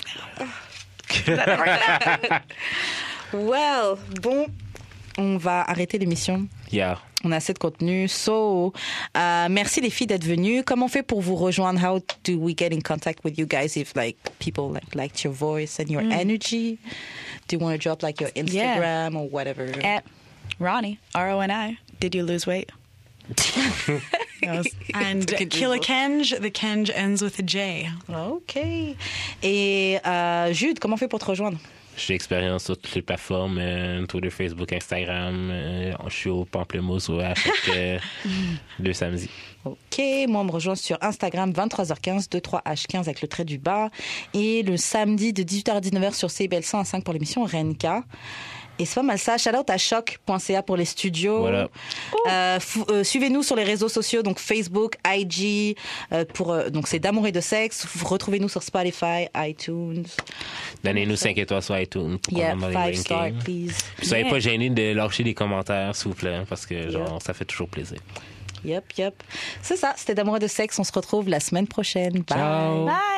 now? Well, bon, on va arrêter l'émission. Yeah. On a assez de contenu. So, merci les filles d'être venues. Comment on fait pour vous rejoindre? How do we get in contact with you guys if like people liked your voice and your energy? Do you want to drop like your Instagram or whatever? At Ronnie, RONI. Did you lose weight? And Killikenj, the Kenj ends with a J. OK. Et Jude, comment on fait pour te rejoindre? J'ai expérience sur toutes les plateformes, Twitter, Facebook, Instagram. Je suis au Pamplemousse à chaque 2 samedis. OK. Moi, on me rejoint sur Instagram, 23h15, 23H15 avec le trait du bas. Et le samedi de 18h à 19h sur CBL 105 pour l'émission Renka. Et c'est pas mal ça. Shout-out à choc.ca pour les studios. Voilà. Suivez-nous sur les réseaux sociaux, donc Facebook, IG, donc c'est d'amour et de sexe. Retrouvez-nous sur Spotify, iTunes. Donnez-nous 5 étoiles sur iTunes. Yeah, dans les 5 stars, rankings. please. Puis soyez pas gênés de lâcher des commentaires, s'il vous plaît, parce que ça fait toujours plaisir. Yep. C'est ça, c'était d'amour et de sexe. On se retrouve la semaine prochaine. Bye. Ciao. Bye.